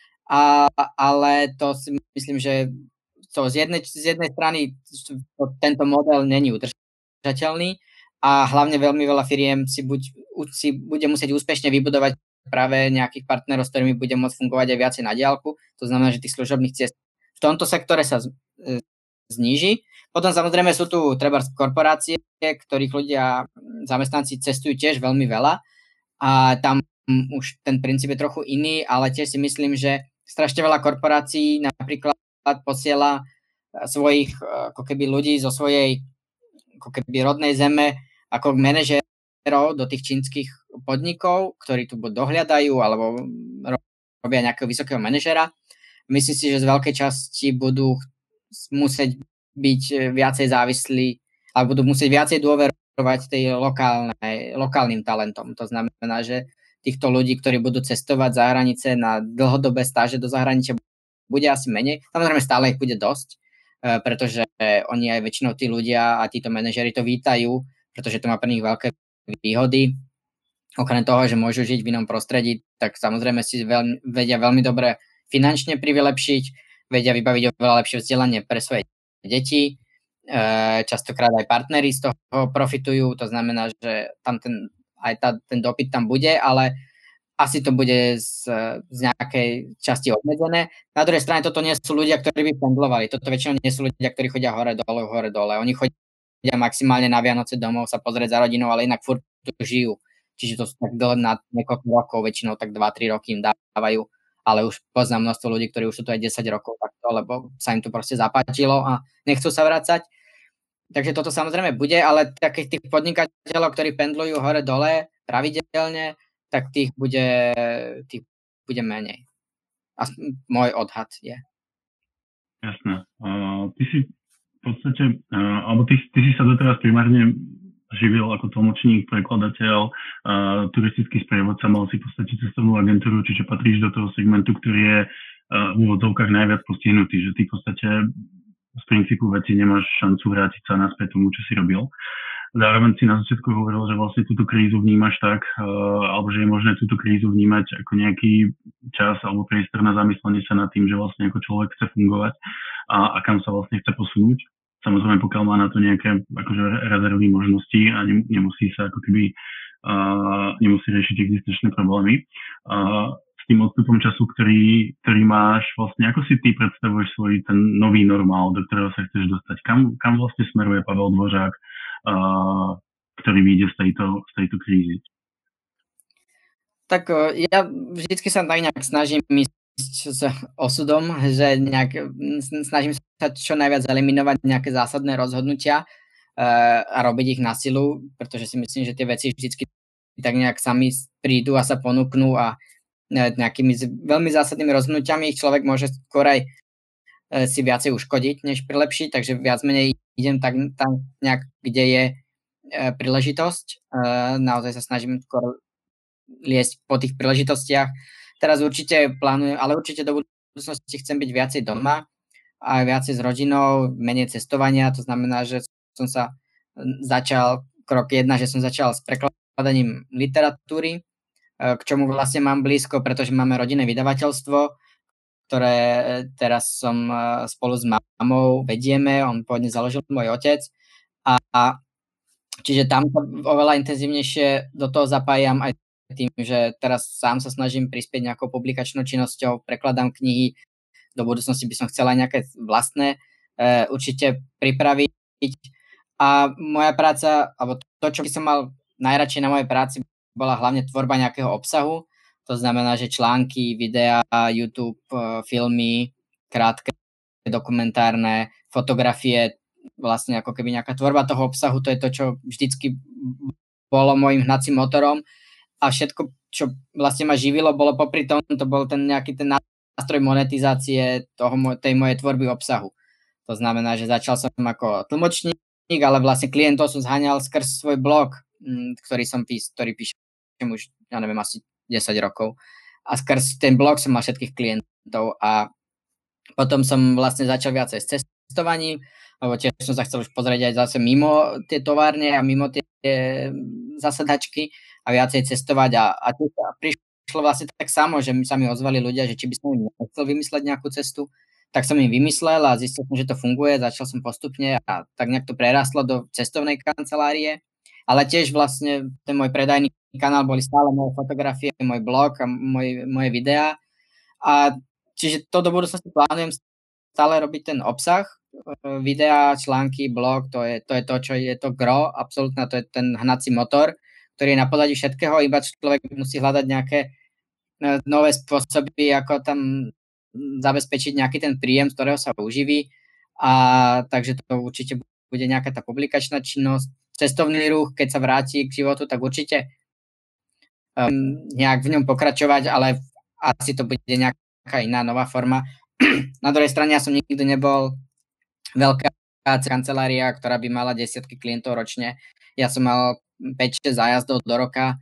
ale to si myslím, že to z jednej strany tento model není udržateľný a hlavne veľmi veľa firiem si bude musieť úspešne vybudovať práve nejakých partnerov, s ktorými bude môcť fungovať aj viacej na diaľku. To znamená, že tých služobných ciest v tomto sektore sa zníži. Potom samozrejme sú tu trebárs korporácie, ktorých ľudia, zamestnanci cestujú tiež veľmi veľa a tam už ten princíp je trochu iný, ale tiež si myslím, že strašne veľa korporácií napríklad posiela svojich ako keby ľudí zo svojej ako keby rodnej zeme ako manažérov do tých čínskych podnikov, ktorí tu buď dohľadajú alebo robia nejakého vysokého manažera. Myslím si, že z veľkej časti budú musieť byť viacej závislí alebo budú musieť viacej dôverovať tej lokálnym talentom. To znamená, že týchto ľudí, ktorí budú cestovať za hranice na dlhodobé stáže do zahraničia, bude asi menej. Samozrejme stále ich bude dosť, pretože oni aj väčšinou tí ľudia a títo manažeri to vítajú, pretože to má pre nich veľké výhody. Okrem toho, že môžu žiť v inom prostredí, tak samozrejme si vedia veľmi dobre finančne privylepšiť, vedia vybaviť oveľa lepšie vzdelanie pre svoje deti. Častokrát aj partneri z toho profitujú, to znamená, že tam ten dopyt tam bude, ale asi to bude z nejakej časti obmedzené. Na druhej strane toto nie sú ľudia, ktorí by pendlovali. Toto väčšinou nie sú ľudia, ktorí chodia hore dole. Oni chodia maximálne na Vianoce domov sa pozrieť za rodinou, ale inak furt tu žijú. Čiže to sú tak dlho na niekoľko rokov, väčšinou tak 2-3 roky im dávajú. Ale už poznám množstvo ľudí, ktorí už sú tu aj 10 rokov takto, lebo sa im to proste zapáčilo a nechcú sa vrácať. Takže toto samozrejme bude, ale takých tých podnikateľov, ktorí pendlujú hore-dole pravidelne, tak tých bude menej. A môj odhad je. Jasné. Ty si v podstate, alebo ty si sa doteraz primárne živil ako tlmočník, prekladateľ, turistický sprievodca, mal si v podstate cestovnú agentúru, čiže patríš do toho segmentu, ktorý je v úvodzovkách najviac postihnutý, že ty v podstate z princípu veci nemáš šancu vrátiť sa naspäť tomu, čo si robil. Zároveň si na začiatku hovoril, že vlastne túto krízu vnímaš tak, alebo že je možné túto krízu vnímať ako nejaký čas alebo priestor na zamyslenie sa nad tým, že vlastne ako človek chce fungovať a kam sa vlastne chce posunúť. Samozrejme, pokiaľ má na to nejaké akože rezervy možnosti a nemusí sa ako keby nemusí riešiť existenčné problémy. S tým odstupom času, ktorý máš, vlastne ako si ty predstavuješ svoj ten nový normál, do ktorého sa chceš dostať? Kam vlastne smeruje Pavel Dvořák, ktorý vyjde z tejto krízy? Tak ja vždycky sa tak nejak snažím s osudom, že snažím sa čo najviac eliminovať nejaké zásadné rozhodnutia a robiť ich na silu, pretože si myslím, že tie veci vždycky tak nejak sami prídu a sa ponúknú a nejakými veľmi zásadnými rozhodnutiami ich človek môže skôr aj si viacej uškodiť, než prilepšiť, takže viac menej idem tam nejak, kde je príležitosť. Naozaj sa snažím skôr liesť po tých príležitostiach. Teraz určite plánujem, ale určite do budúcnosti chcem byť viacej doma a viacej s rodinou, menej cestovania. To znamená, že som sa začal, krok 1, že som začal s prekladaním literatúry, k čomu vlastne mám blízko, pretože máme rodinné vydavateľstvo, ktoré teraz som spolu s mamou vedieme. On pôvodne založil môj otec a čiže tam oveľa intenzívnejšie do toho zapájam aj tým, že teraz sám sa snažím prispieť nejakou publikačnou činnosťou, prekladám knihy, do budúcnosti by som chcela nejaké vlastné určite pripraviť. A moja práca, alebo to, čo by som mal najradšej na mojej práci, bola hlavne tvorba nejakého obsahu. To znamená, že články, videá, YouTube, filmy, krátke, dokumentárne, fotografie, vlastne ako keby nejaká tvorba toho obsahu, to je to, čo vždycky bolo môjim hnacím motorom. A všetko, čo vlastne ma živilo, bolo popri tom, to bol ten nejaký ten nástroj monetizácie tej mojej tvorby obsahu. To znamená, že začal som ako tlmočník, ale vlastne klientov som zháňal skrz svoj blog, ktorý píšem už, ja neviem, asi 10 rokov. A skrz ten blog som mal všetkých klientov a potom som vlastne začal viacej s cestovaním, lebo tiež som sa chcel už pozrieť aj zase mimo tie továrne a mimo tie zasadačky a viacej cestovať a prišlo vlastne tak samo, že sa mi ozvali ľudia, že či by som im chcel vymysleť nejakú cestu, tak som im vymyslel a zistil som, že to funguje, začal som postupne a tak nejak to prerastlo do cestovnej kancelárie, ale tiež vlastne ten môj predajný kanál boli stále moje fotografie, môj blog a moje videá a čiže to do budúcnosti plánujem stále robiť ten obsah, videá, články, blog, to je to, čo je to gro, absolútne to je ten hnací motor, ktorý je na pozadí všetkého, iba človek musí hľadať nejaké nové spôsoby, ako tam zabezpečiť nejaký ten príjem, z ktorého sa uživí. A takže to určite bude nejaká tá publikačná činnosť, cestovný ruch, keď sa vráti k životu, tak určite nejak v ňom pokračovať, ale asi to bude nejaká iná nová forma. Na druhej strane ja som nikdy nebol veľká kancelária, ktorá by mala desiatky klientov ročne. Ja som mal 5-6 zájazdov do roka,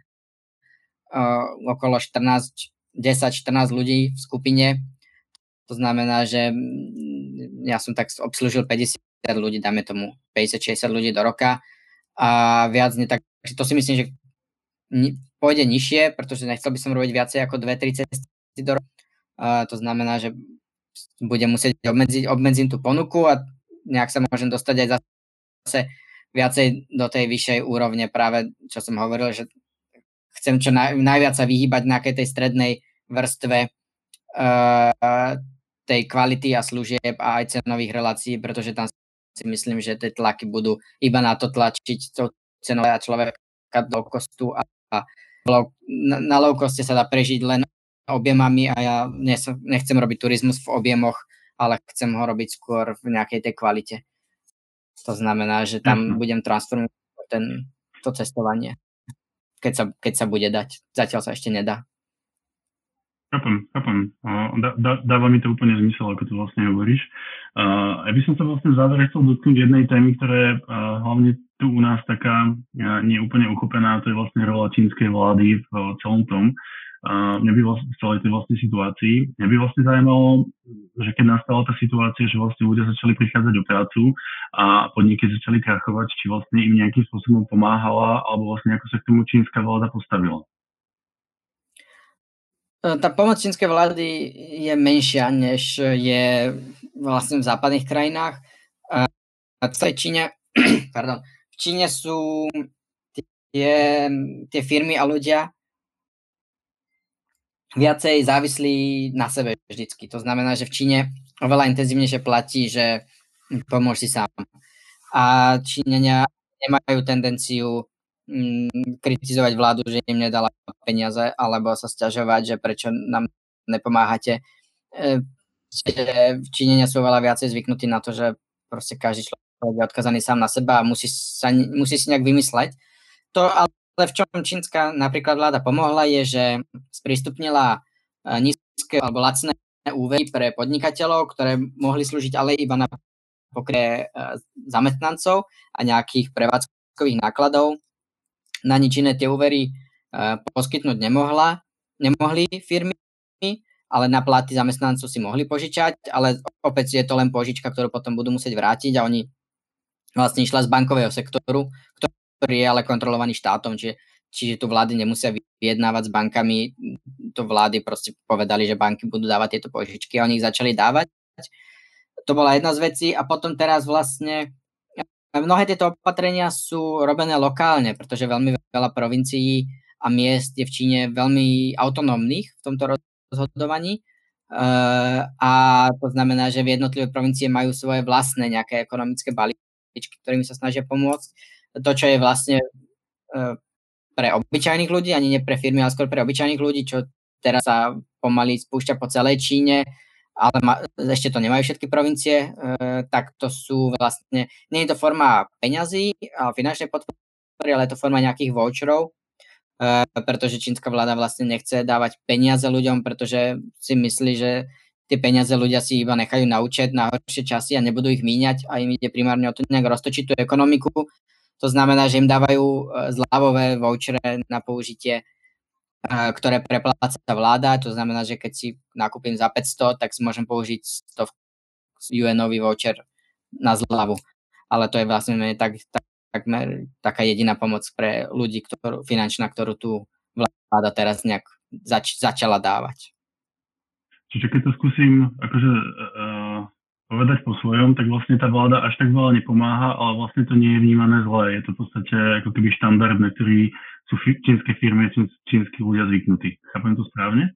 okolo 10-14 ľudí v skupine. To znamená, že ja som tak obslúžil 50 ľudí, dáme tomu 50-60 ľudí do roka a viac nie, tak to si myslím, že pôjde nižšie, pretože nechcel by som robiť viacej ako 2-3 cesty do roka. To znamená, že budem musieť obmedziť tú ponuku a nejak sa môžem dostať aj zase viacej do tej vyššej úrovne, práve čo som hovoril, že chcem čo najviac sa vyhýbať nejakej tej strednej vrstve tej kvality a služieb a aj cenových relácií, pretože tam si myslím, že tie tlaky budú iba na to tlačiť tou cenou a človeka do kostu a na low coste sa dá prežiť len objemami a ja nechcem robiť turizmus v objemoch, ale chcem ho robiť skôr v nejakej tej kvalite. To znamená, že tam budem transformovať to cestovanie, keď sa bude dať. Zatiaľ sa ešte nedá. Chápem. Dáva mi to úplne zmysel, ako to vlastne hovoríš. Ja by som sa vlastne v závere chcel dotknúť jednej témy, ktorá je hlavne tu u nás taká nie úplne uchopená, to je vlastne rola čínskej vlády v celom tom. Mňa by vlastne v celej tej vlastne situácii. Mňa by vlastne zaujímalo, že keď nastala tá situácia, že vlastne ľudia začali prichádzať o prácu a podniky začali krachovať, či vlastne im nejakým spôsobom pomáhala, alebo vlastne ako sa k tomu čínska vláda postavila. Tá pomoc čínskej vlády je menšia, než je vlastne v západných krajinách. V Číne, v Číne sú tie firmy a ľudia viacej závislí na sebe vždycky. To znamená, že v Číne oveľa intenzívnejšie platí, že pomôž si sám. A Číňania nemajú tendenciu kritizovať vládu, že im nedala peniaze, alebo sa sťažovať, že prečo nám nepomáhate. Číňania sú veľa viacej zvyknutí na to, že proste každý človek je odkazaný sám na seba a musí si nejak vymysleť. To, ale v čom čínska napríklad vláda pomohla, je, že sprístupnila nízke alebo lacné úvery pre podnikateľov, ktoré mohli slúžiť ale iba na pokrytie zamestnancov a nejakých prevádzkových nákladov. Na nič iné tie úvery poskytnúť nemohli firmy, ale na platy zamestnancov si mohli požičať, ale opäť je to len požička, ktorú potom budú musieť vrátiť a oni vlastne išla z bankového sektoru, ktorý je ale kontrolovaný štátom, čiže tu vlády nemusia vyjednávať s bankami, to vlády proste povedali, že banky budú dávať tieto požičky a oni ich začali dávať. To bola jedna z vecí a potom teraz vlastne mnohé tieto opatrenia sú robené lokálne, pretože veľmi veľa provincií a miest je v Číne veľmi autonómnych v tomto rozhodovaní. A to znamená, že v jednotlivé provincie majú svoje vlastné nejaké ekonomické balíčky, ktorými sa snažia pomôcť. To, čo je vlastne pre obyčajných ľudí, ani nie pre firmy, ale skôr pre obyčajných ľudí, čo teraz sa pomaly spúšťa po celej Číne, ale ešte to nemajú všetky provincie, tak to sú vlastne, nie je to forma peňazí a finančnej podpory, ale je to forma nejakých voucherov, pretože čínska vláda vlastne nechce dávať peniaze ľuďom, pretože si myslí, že tie peniaze ľudia si iba nechajú na účet na horšie časy a nebudú ich míňať a im ide primárne o to nejak roztočiť tú ekonomiku. To znamená, že im dávajú zľavové vouchere na použitie, ktoré prepláca vláda, to znamená, že keď si nakúpim za 500, tak si môžem použiť 100 UN-ový voucher na zľavu. Ale to je vlastne takmer taká jediná pomoc pre ľudí, finančná, ktorú tu vláda teraz nejak začala dávať. Čiže keď to skúsim akože povedať po svojom, tak vlastne tá vláda až tak veľa nepomáha, ale vlastne to nie je vnímané zle. Je to v podstate ako keby štandard, na ktorý sú čínske firmy, čínsky ľudia zvyknutí. Chápem to správne?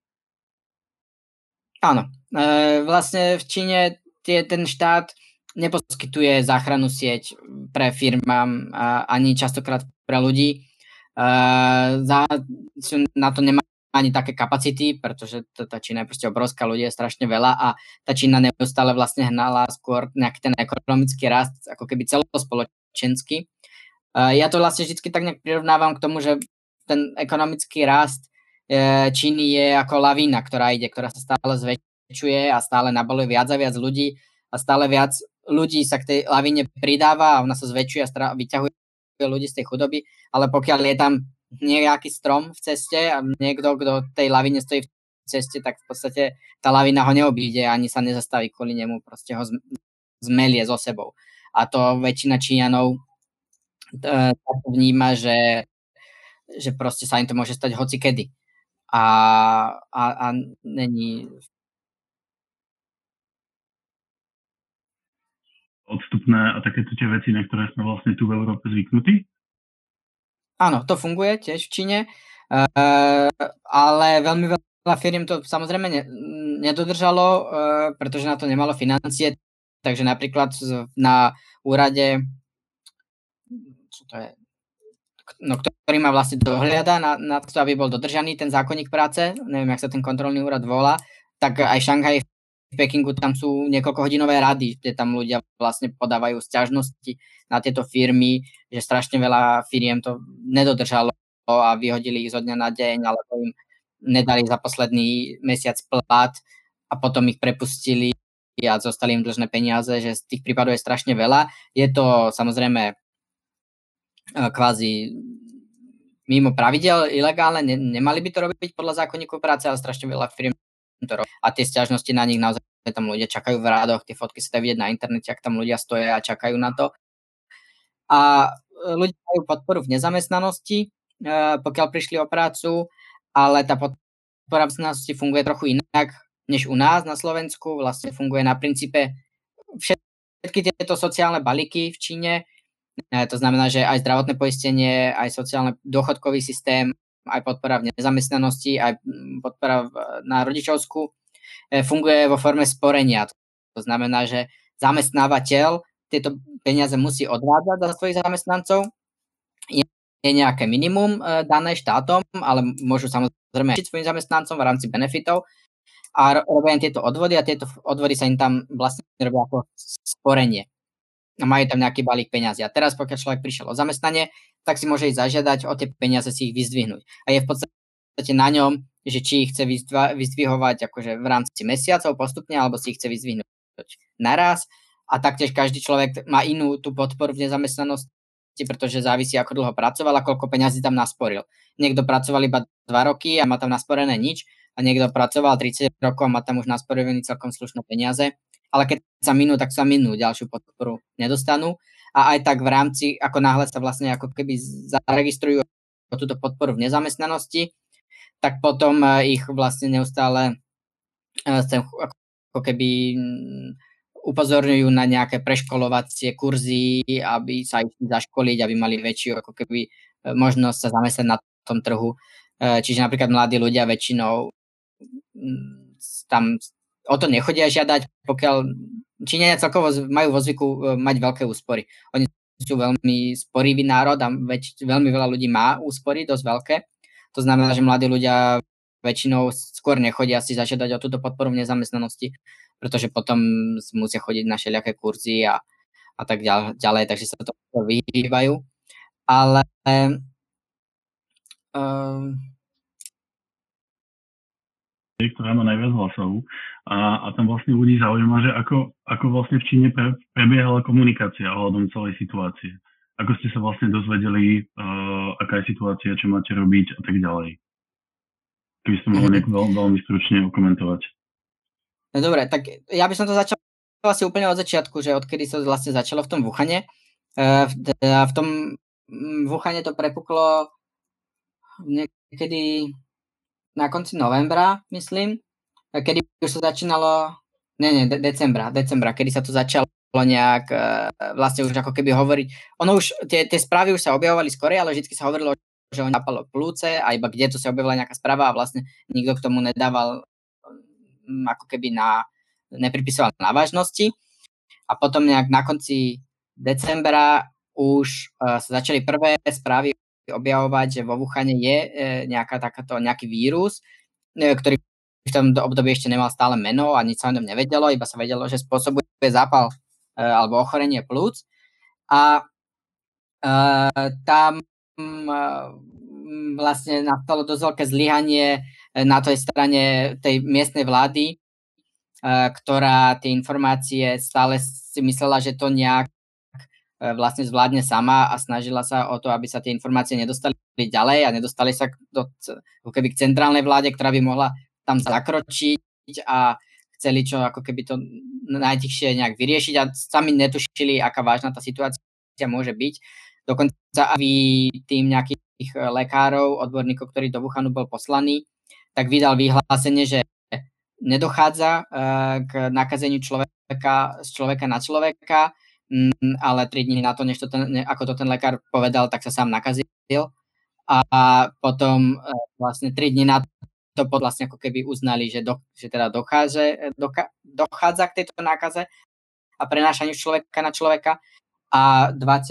Áno. Vlastne v Číne ten štát neposkytuje záchrannú sieť pre firmám ani častokrát pre ľudí. Na to nemá ani také kapacity, pretože tá Čína je proste obrovská, ľudí je strašne veľa a tá Čína neustále vlastne hnala skôr nejaký ten ekonomický rast, ako keby celospoločenský. Ja to vlastne vždy tak nejak prirovnávam k tomu, že ten ekonomický rast Číny je ako lavína, ktorá sa stále zväčšuje a stále nabaluje viac a viac ľudí a stále viac ľudí sa k tej lavíne pridáva a ona sa zväčšuje a vyťahuje ľudí z tej chudoby, ale pokiaľ je tam nejaký strom v ceste a niekto, kto tej lavine stojí v ceste, tak v podstate tá lavina ho neobíde ani sa nezastaví kvôli nemu, proste ho zmelie so sebou. A to väčšina Číňanov vníma, že proste sa im to môže stať hocikedy. A není odstupné a takéto tie veci, na ktoré sme vlastne tu v Európe zvyknutí? Áno, to funguje tiež v Číne. Ale veľmi veľa firiem to samozrejme nedodržalo, pretože na to nemalo financie, takže napríklad na úrade, čo to je, no, ktorý ma vlastne dohliada na to, aby bol dodržaný ten zákonník práce, neviem, jak sa ten kontrolný úrad volá, tak aj Šanghaj, v Pekingu tam sú niekoľkohodinové rady, kde tam ľudia vlastne podávajú sťažnosti na tieto firmy, že strašne veľa firiem to nedodržalo a vyhodili ich zo dňa na deň, alebo im nedali za posledný mesiac plat a potom ich prepustili a zostali im dlžné peniaze, že z tých prípadov je strašne veľa. Je to samozrejme kvázi mimo pravidel, ilegálne, nemali by to robiť podľa zákonníku práce, ale strašne veľa firiem to robí. A tie sťažnosti na nich naozaj tam ľudia čakajú v rádoch, tie fotky sa dajú vidieť na internete, ak tam ľudia stoja a čakajú na to. A ľudia majú podporu v nezamestnanosti, pokiaľ prišli o prácu, ale tá podpora v nezamestnanosti funguje trochu inak, než u nás na Slovensku. Vlastne funguje na princípe všetky tieto sociálne balíky v Číne. To znamená, že aj zdravotné poistenie, aj sociálny dôchodkový systém, aj podpora v nezamestnanosti, aj podpora na rodičovskú funguje vo forme sporenia. To znamená, že zamestnávateľ tieto peniaze musí odvádzať za svojich zamestnancov. Je nejaké minimum dané štátom, ale môžu samozrejme svojim zamestnancom v rámci benefitov a robia tieto odvody a tieto odvody sa im tam vlastne robia ako sporenie. A majú tam nejaký balík peňazí. A teraz, pokiaľ človek prišiel o zamestnanie, tak si môže ísť zažiadať o tie peniaze, si ich vyzdvihnúť. A je v podstate na ňom, že či ich chce vyzdvihovať akože v rámci mesiacov postupne, alebo si ich chce vyzdvihnúť naraz. A taktiež každý človek má inú tú podporu v nezamestnanosti, pretože závisí, ako dlho pracoval a koľko peňazí tam nasporil. Niekto pracoval iba 2 roky a má tam nasporené nič, a niekto pracoval 30 rokov a má tam už nasporené celkom slušné peniaze. Ale keď sa minú, tak sa minú, ďalšiu podporu nedostanú. A aj tak v rámci, ako náhle sa vlastne ako keby zaregistrujú túto podporu v nezamestnanosti, tak potom ich vlastne neustále ako keby upozorňujú na nejaké preškolovacie kurzy, aby sa ich zaškoliť, aby mali väčšiu ako keby možnosť sa zamestnať na tom trhu. Čiže napríklad mladí ľudia väčšinou tam o to nechodia žiadať, pokiaľ Číňania celkovo majú vo zvyku mať veľké úspory. Oni sú veľmi sporivý národ a veľmi veľa ľudí má úspory, dosť veľké. To znamená, že mladí ľudia väčšinou skôr nechodia si zažiadať o túto podporu v nezamestnanosti, pretože potom musia chodiť na všelijaké kurzy a tak ďalej, takže sa to vyhýbajú. Ale ktorá má najviac hlasov a tam vlastne ľudí zaujíma, že ako vlastne v Číne prebiehala komunikácia ohľadom celej situácie. Ako ste sa vlastne dozvedeli, aká je situácia, čo máte robiť a tak ďalej. Keby ste mohli veľmi stručne okomentovať. No dobre, tak ja by som to začal asi úplne od začiatku, že odkedy sa vlastne začalo v tom Wuhane. V tom Wuhane to prepuklo niekedy na konci novembra, myslím, kedy už sa začínalo, decembra, kedy sa to začalo nejak vlastne už ako keby hovoriť. Ono už, tie správy už sa objavovali skore, ale vždy sa hovorilo, že on napalo plúce a iba kde to sa objavila nejaká správa a vlastne nikto k tomu nedával ako keby nepripisoval na vážnosti. A potom nejak na konci decembra už sa začali prvé správy objavovať, že vo Wuhane je nejaký vírus, ktorý v tom období ešte nemal stále meno a nič sa o ňom nevedelo, iba sa vedelo, že spôsobuje zápal alebo ochorenie plúc. A tam vlastne nastalo dosť veľké zlyhanie na tej strane tej miestnej vlády, ktorá tie informácie stále si myslela, že to nejak vlastne zvládne sama a snažila sa o to, aby sa tie informácie nedostali ďalej a nedostali sa k centrálnej vláde, ktorá by mohla tam zakročiť a chceli čo ako keby to najtichšie nejak vyriešiť a sami netušili, aká vážna tá situácia môže byť. Dokonca aj tým nejakých lekárov, odborníkov, ktorí do Wuhanu bol poslaný, tak vydal vyhlásenie, že nedochádza k nakazeniu z človeka na človeka, ale 3 dní na to, ako to ten lekár povedal, tak sa sám nakazil a potom vlastne 3 dní na to vlastne ako keby uznali, že teda dochádza k tejto nákaze a prenášaniu človeka na človeka a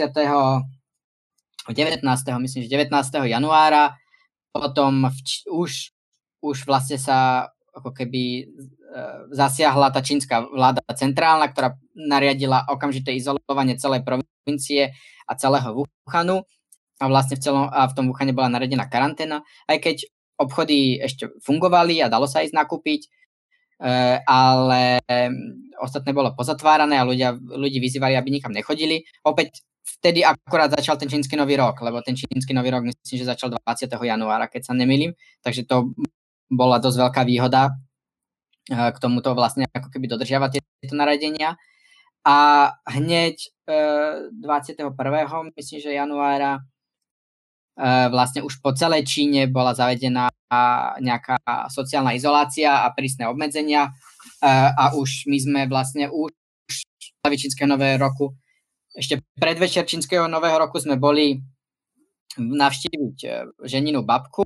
19. 19. januára potom už vlastne sa ako keby zasiahla tá čínska vláda centrálna, ktorá nariadila okamžité izolovanie celej provincie a celého Wuhanu a vlastne v tom Wuhane bola nariadená karanténa, aj keď obchody ešte fungovali a dalo sa ísť nakúpiť, ale ostatné bolo pozatvárané a ľudí vyzývali, aby nikam nechodili. Opäť vtedy akorát začal ten čínsky nový rok, lebo ten čínsky nový rok myslím, že začal 20. januára, keď sa nemýlim, takže to bola dosť veľká výhoda k tomuto vlastne ako keby dodržiavať tieto nariadenia. A hneď 21. myslím, že januára vlastne už po celej Číne bola zavedená nejaká sociálna izolácia a prísne obmedzenia a už my sme vlastne už čínskeho nového roku, ešte predvečer čínskeho nového roku sme boli navštíviť ženinu babku,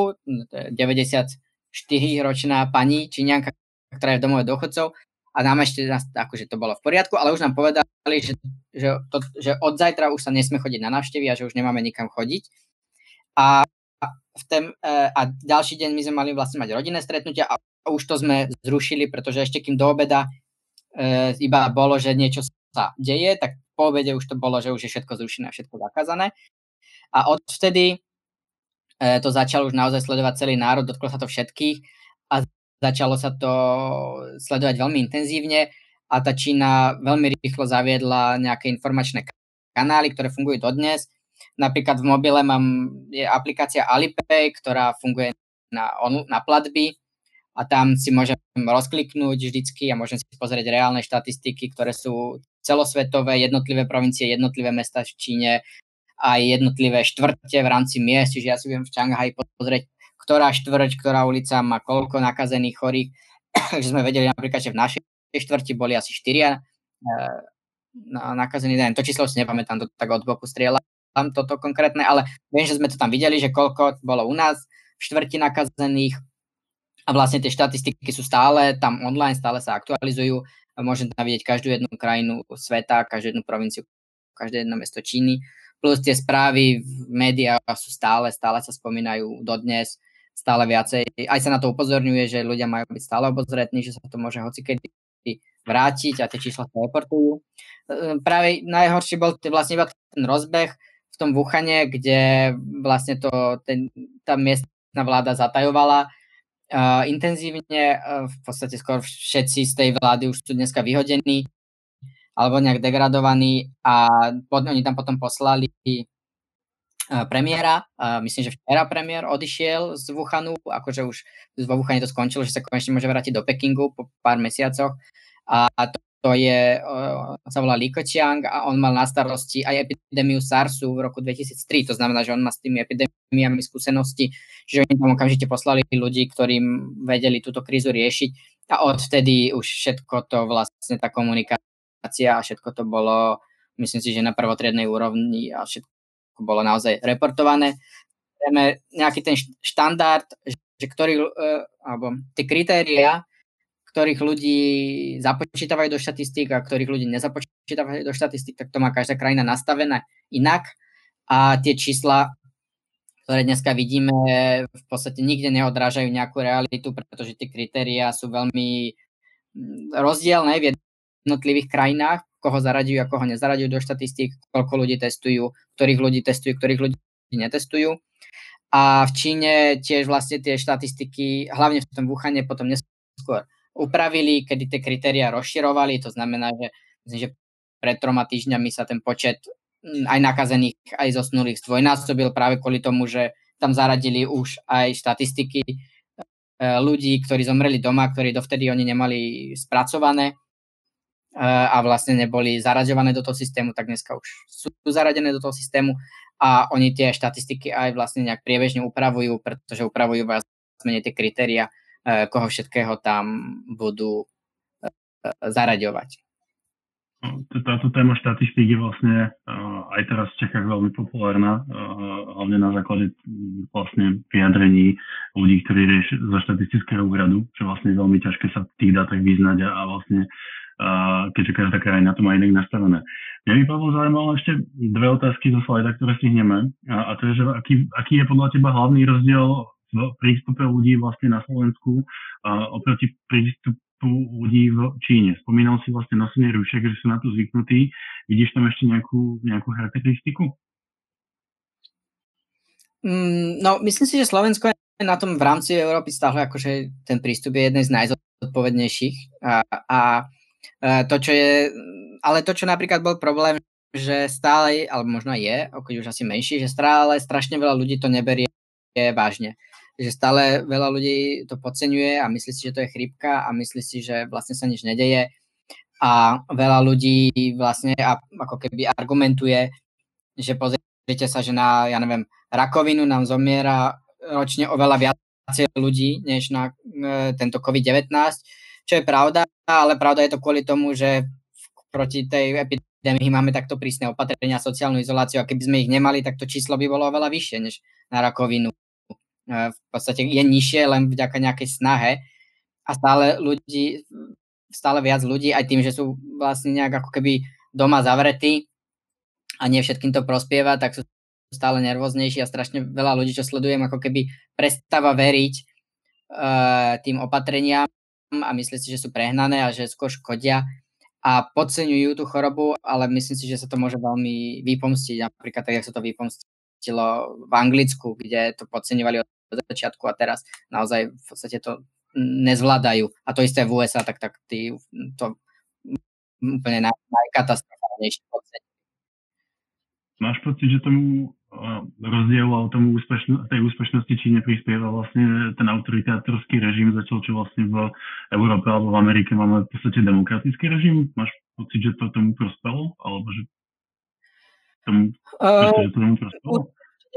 94-ročná pani Číňanka, ktorá je v domove dôchodcov a nám ešte akože to bolo v poriadku, ale už nám povedali, že od zajtra už sa nesme chodiť na návštevy a že už nemáme nikam chodiť. A ďalší deň my sme mali vlastne mať rodinné stretnutia a už to sme zrušili, pretože ešte kým do obeda iba bolo, že niečo sa deje, tak po obede už to bolo, že už je všetko zrušené a všetko zakázané. A odvtedy to začal už naozaj sledovať celý národ, dotklo sa to všetkých a začalo sa to sledovať veľmi intenzívne a tá Čína veľmi rýchlo zaviedla nejaké informačné kanály, ktoré fungujú dodnes. Napríklad v mobile je aplikácia Alipay, ktorá funguje na platby a tam si môžem rozkliknúť vždycky a môžem si pozrieť reálne štatistiky, ktoré sú celosvetové, jednotlivé provincie, jednotlivé mesta v Číne a jednotlivé štvrte v rámci miest, čiže ja si viem v Šanghaji pozrieť, ktorá štvrť, ktorá ulica má koľko nakazených chorých, že sme vedeli napríklad, že v našej štvrti boli asi 4 nakazení. To číslo si nepamätám, to tak od boku strieľam toto konkrétne, ale viem, že sme to tam videli, že koľko bolo u nás v štvrti nakazených a vlastne tie štatistiky sú stále tam online, stále sa aktualizujú. Môžem tam vidieť každú jednu krajinu sveta, každú jednu provinciu, každé jedno mesto Číny. Plus tie správy v médiách sú stále sa spomínajú dodnes, stále viacej. Aj sa na to upozorňuje, že ľudia majú byť stále obozretní, že sa to môže hocikedy vrátiť a tie čísla sa reportujú. Práve najhorší bol vlastne iba ten rozbeh v tom Wuhane, kde vlastne tá miestna vláda zatajovala intenzívne. V podstate skoro všetci z tej vlády už sú dneska vyhodení alebo nejak degradovaní a oni tam potom poslali premiéra. Myslím, že včera premiér odišiel z Wuhanu, akože už vo Wuhane to skončilo, že sa konečne môže vrátiť do Pekingu po pár mesiacoch a to sa volá Li Keqiang a on mal na starosti aj epidémiu SARSu v roku 2003, to znamená, že on má s tými epidémiami skúsenosti, že oni tam okamžite poslali ľudí, ktorým vedeli túto krízu riešiť a odvtedy už všetko to vlastne tá komunikácia a všetko to bolo, myslím si, že na prvotriednej úrovni a všetko bolo naozaj reportované. Nejaký ten štandard, že alebo tie kritériá, ktorých ľudí započítavajú do štatistík a ktorých ľudí nezapočítavajú do štatistík, tak to má každá krajina nastavené inak. A tie čísla, ktoré dneska vidíme, v podstate nikde neodrážajú nejakú realitu, pretože tie kritériá sú veľmi rozdielne v jednotlivých krajinách, koho zaraďujú a koho nezaraďujú do štatistík, koľko ľudí testujú, ktorých ľudí ľudí netestujú. A v Číne tiež vlastne tie štatistiky, hlavne v tom Wuhane, potom neskôr upravili, kedy tie kritériá rozširovali, to znamená, že myslím, že pred 3 týždňami sa ten počet aj nakazených, aj zosnulých zdvojnásobil práve kvôli tomu, že tam zaradili už aj štatistiky ľudí, ktorí zomreli doma, ktorí dovtedy oni nemali spracované a vlastne neboli zaraďované do toho systému, tak dneska už sú zaradené do toho systému a oni tie štatistiky aj vlastne nejak priebežne upravujú, pretože upravujú viac menej tie kritériá, koho všetkého tam budú zaraďovať. Táto téma štatistík je vlastne aj teraz v Čechách veľmi populárna, hlavne na základe vlastne vyjadrení ľudí, ktorí riešia zo štatistického úradu, čo vlastne je veľmi ťažké sa v tých dátach vyznať a vlastne keďže každá krajina to má inak nastavené. Mňa by, Pavel, zaujímalo ešte dve otázky zo slajda, ktoré stihneme. A to je, že aký je podľa teba hlavný rozdiel v prístupe ľudí vlastne na Slovensku oproti prístupu ľudí v Číne. Spomínal si vlastne nosenie rúšek, že sú na to zvyknutí. Vidíš tam ešte nejakú charakteristiku? No, myslím si, že Slovensko je na tom v rámci Európy stále akože ten prístup je jeden z najzodpovednejších. To, čo je, ale to, čo napríklad bol problém, že stále, alebo možno je, keď už asi menší, že stále strašne veľa ľudí to neberie vážne. Že stále veľa ľudí to podceňuje a myslí si, že to je chrípka a myslí si, že vlastne sa nič nedeje a veľa ľudí vlastne ako keby argumentuje, že pozrite sa, že na, ja neviem, rakovinu nám zomiera ročne oveľa viacej ľudí, než na tento COVID-19, čo je pravda, ale pravda je to kvôli tomu, že proti tej epidémii máme takto prísne opatrenia, sociálnu izoláciu a keby sme ich nemali, tak to číslo by bolo oveľa vyššie, než na rakovinu. V podstate je nižšie len vďaka nejakej snahe a stále viac ľudí, aj tým, že sú vlastne nejak ako keby doma zavretí a nie všetkým to prospieva, tak sú stále nervóznejší a strašne veľa ľudí, čo sledujem, ako keby prestáva veriť tým opatreniam a myslí si, že sú prehnané a že skôr škodia a podceňujú tú chorobu, ale myslím si, že sa to môže veľmi vypomstiť, napríklad tak, jak sa to vypomstilo v Anglicku, kde to podceňovali od začiatku a teraz naozaj v podstate to nezvládajú. A to isté v USA, tak tí to úplne najkatastrofálnejšie podceň. Máš pocit, že tomu rozdielu a tomu tej úspešnosti Číne prispieva vlastne ten autoritátorský režim, zatiaľ čo vlastne v Európe alebo v Amerike máme v podstate demokratický režim? Máš pocit, že to tomu prospelo? Alebo že tomu prospelo?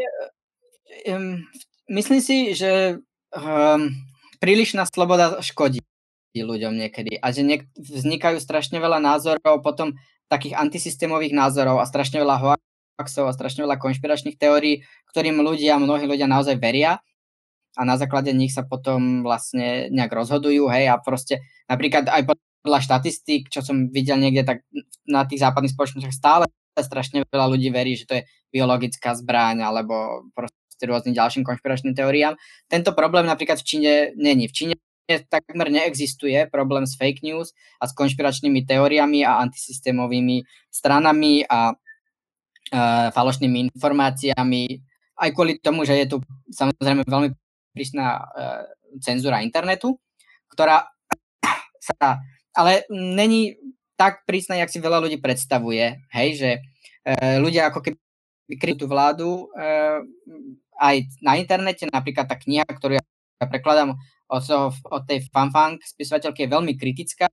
Myslím si, že prílišná sloboda škodí ľuďom niekedy a že vznikajú strašne veľa názorov, potom takých antisystémových názorov a strašne veľa hoaxov a strašne veľa konšpiračných teórií, ktorým mnohí ľudia naozaj veria a na základe nich sa potom vlastne nejak rozhodujú, hej, a proste napríklad aj podľa štatistík, čo som videl niekde, tak na tých západných spoločnostiach stále strašne veľa ľudí verí, že to je biologická zbraň alebo proste rôznym ďalším konšpiračným teóriám. Tento problém napríklad v Číne není. V Číne takmer neexistuje problém s fake news a s konšpiračnými teóriami a antisystémovými stranami a falošnými informáciami. Aj kvôli tomu, že je tu samozrejme veľmi prísna cenzúra internetu, ktorá sa ale není tak prísna, jak si veľa ľudí predstavuje. Hej, že ľudia ako keby kryjú tú vládu aj na internete, napríklad tá kniha, ktorú ja prekladám od tej Fanfang spisovateľky, je veľmi kritická,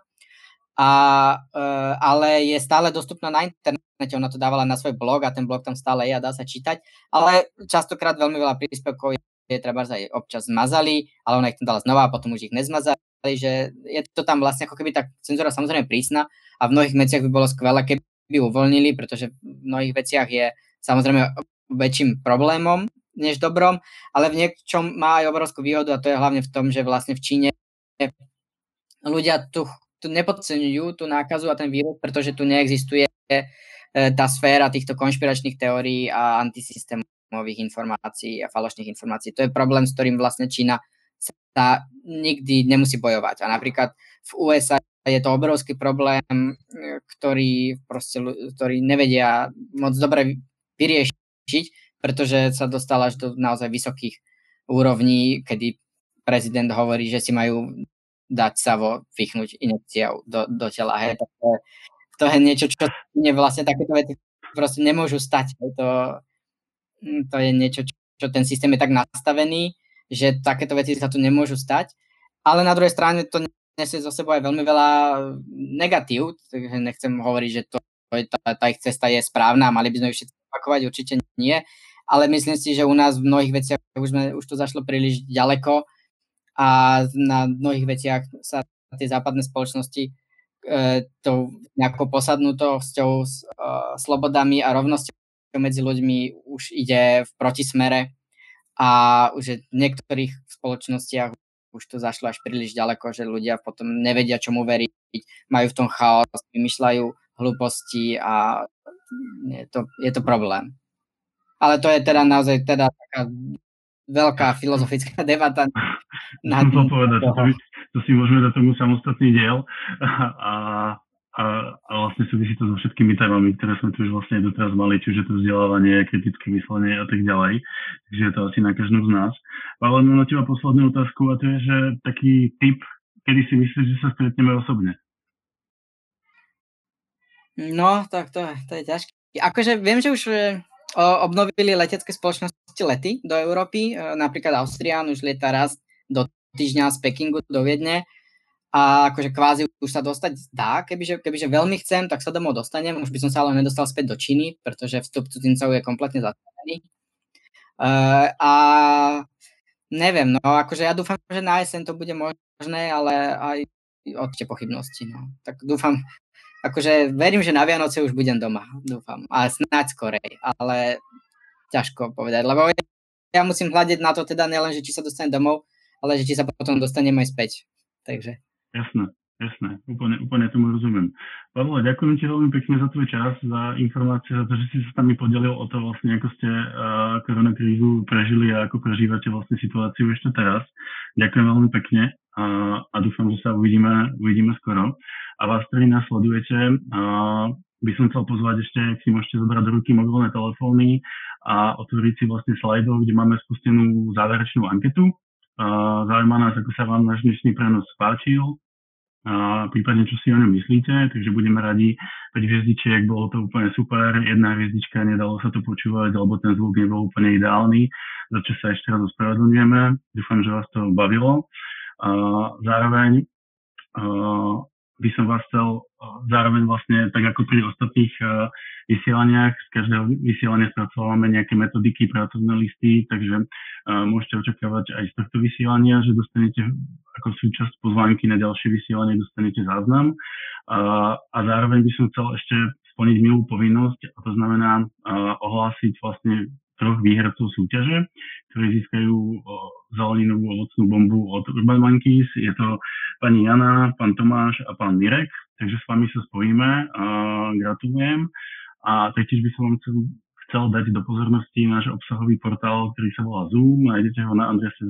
ale je stále dostupná na internete. Ona to dávala na svoj blog a ten blog tam stále je a dá sa čítať, ale častokrát veľmi veľa príspevkov je treba aj občas zmazali, ale ona ich tam dala znova a potom už ich nezmazali, že je to tam vlastne ako keby tá cenzúra samozrejme prísna a v mnohých veciach by bolo skvelé, keby uvoľnili, pretože v mnohých veciach je samozrejme väčším problémom než dobrom, ale v niečom má aj obrovskú výhodu a to je hlavne v tom, že vlastne v Číne ľudia tu nepodceňujú tú nákazu a ten vírus, pretože tu neexistuje tá sféra týchto konšpiračných teórií a antisystémových informácií a falošných informácií. To je problém, s ktorým vlastne Čína sa nikdy nemusí bojovať. A napríklad v USA je to obrovský problém, ktorý nevedia moc dobre vyriešiť, pretože sa dostal až do naozaj vysokých úrovní, kedy prezident hovorí, že si majú dať savo vychnúť injekciou do tela. Hej. To je niečo, čo vlastne takéto veci proste nemôžu stať. To je niečo, čo ten systém je tak nastavený, že takéto veci sa tu nemôžu stať. Ale na druhej strane to nesie zo sebou aj veľmi veľa negatív, takže nechcem hovoriť, že tá ich cesta je správna a mali by sme ju všetci opakovať, určite nie. Ale myslím si, že u nás v mnohých veciach už to zašlo príliš ďaleko a na mnohých veciach sa tie západné spoločnosti tou nejakou posadnutosťou, slobodami a rovnosťou medzi ľuďmi už ide v protismere a už v niektorých spoločnostiach už to zašlo až príliš ďaleko, že ľudia potom nevedia, čomu veriť, majú v tom chaos, vymýšľajú hlúposti a je to problém. Ale to je teda naozaj taká veľká filozofická debata. Musím povedať, to si môžeme dať tomu samostatný diel a vlastne súvisí to so všetkými témami, ktoré sme tu už vlastne doteraz mali, čiže to vzdelávanie, kritické myslenie a tak ďalej. Takže je to asi na každom z nás. Ale mám na teba poslednú otázku a to je, že taký tip, kedy si myslíš, že sa stretneme osobne? No, tak to je ťažké. Akože viem, že už obnovili letecké spoločnosti lety do Európy, napríklad Austrian už lieta raz do týždňa z Pekingu do Viedne a akože kvázi už sa dostať dá, kebyže veľmi chcem, tak sa domov dostanem, už by som sa ale nedostal späť do Číny, pretože vstup cudzincov je kompletne zastavený. A neviem, no akože ja dúfam, že na jeseň to bude možné, ale aj určite pochybnosti, no. Tak dúfam, akože verím, že na Vianoce už budem doma, dúfam. A snáď skorej, ale ťažko povedať, lebo ja musím hľadiť na to teda nielen, že či sa dostanem domov, ale že či sa potom dostanem aj späť. Takže. Jasné. Úplne tomu rozumiem. Pavle, ďakujem ti veľmi pekne za tvoj čas, za informácie, za to, že si sa s nami podelil o to vlastne, ako ste koronakrízu prežili a ako prežívate vlastne situáciu ešte teraz. Ďakujem veľmi pekne a dúfam, že sa uvidíme skoro. A vás, ktorí nás sledujete, by som chcel pozvať ešte, ak si môžete zobrať do ruky mobilné telefóny a otvoriť si vlastne slajdov, kde máme spustenú záverečnú anketu. Zaujíma nás, ako sa vám náš dnešný prenos páčil, prípadne čo si o ňom myslíte, takže budeme radi 5 hviezdičiek, bolo to úplne super, 1 hviezdička, nedalo sa to počúvať, alebo ten zvuk nebol úplne ideálny, za čo sa ešte raz ospravedlňujeme, dúfam, že vás to bavilo. Zároveň by som vás chcel zároveň vlastne, tak ako pri ostatných vysielaniach, z každého vysielania spracovávame nejaké metodiky, pracovné listy, takže môžete očakávať aj z tohto vysielania, že dostanete ako súčasť pozvánky na ďalšie vysielanie, dostanete záznam. A zároveň by som chcel ešte splniť milú povinnosť, a to znamená ohlásiť vlastne 3 výhercov súťaže, ktorí získajú zeleninovú ovocnú bombu od Urban Monkeys. Je to pani Jana, pán Tomáš a pán Mirek, takže s vami sa spojíme. Gratulujem. A taktiež by som vám chcel dať do pozornosti náš obsahový portál, ktorý sa volá Zoom. Nájdete ho na adrese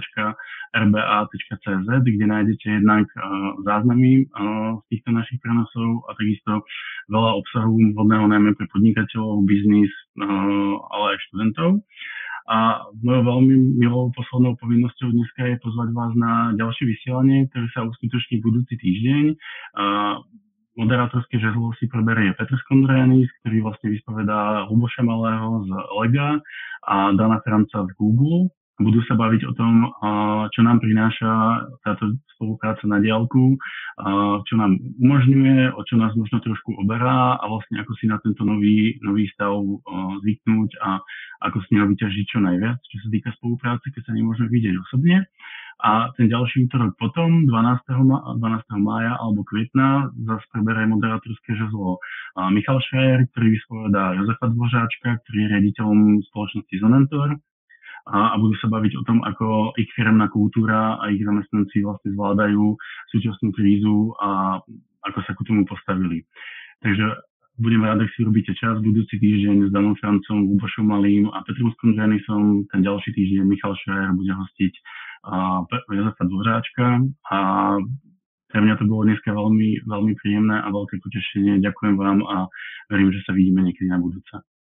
zoom.rba.cz, kde nájdete jednak záznamy z týchto našich prenosov a takisto veľa obsahu vhodného najmä pre podnikateľov, biznis, ale aj študentov. A mojou veľmi milou poslednou povinnosťou dneska je pozvať vás na ďalšie vysielanie, ktoré sa uskutoční budúci týždeň. Moderátorské žezlo si preberie Petr Skondrianis, ktorý vlastne vyspovedá Luboša Malého z Lega a Dana Franca z Google. Budú sa baviť o tom, čo nám prináša táto spolupráca na diaľku, čo nám umožňuje, o čo nás možno trošku oberá a vlastne ako si na tento nový stav zvyknúť a ako z neho vyťažiť čo najviac, čo sa týka spolupráce, keď sa nemôžeme vidieť osobne. A ten ďalší útorok potom, 12. mája alebo kvietna, zase preberie moderátorské žezlo Michal Šrajer, ktorý vyspovedá Jozefa Dvořáčka, ktorý je riaditeľom spoločnosti Zonentor. A budú sa baviť o tom, ako ich firemná kultúra a ich zamestnanci vlastne zvládajú súčasnú krízu a ako sa ku tomu postavili. Takže budem rád, ak si robíte čas budúci týždeň s Danom Francom, Lubošom Malým a Petrom Skondrianisom. Ten ďalší týždeň Michal Šrajer bude hostiť Jozefa Dvořáčka a pre mňa to bolo dneska veľmi, veľmi príjemné a veľké potešenie. Ďakujem vám a verím, že sa vidíme niekedy na budúce.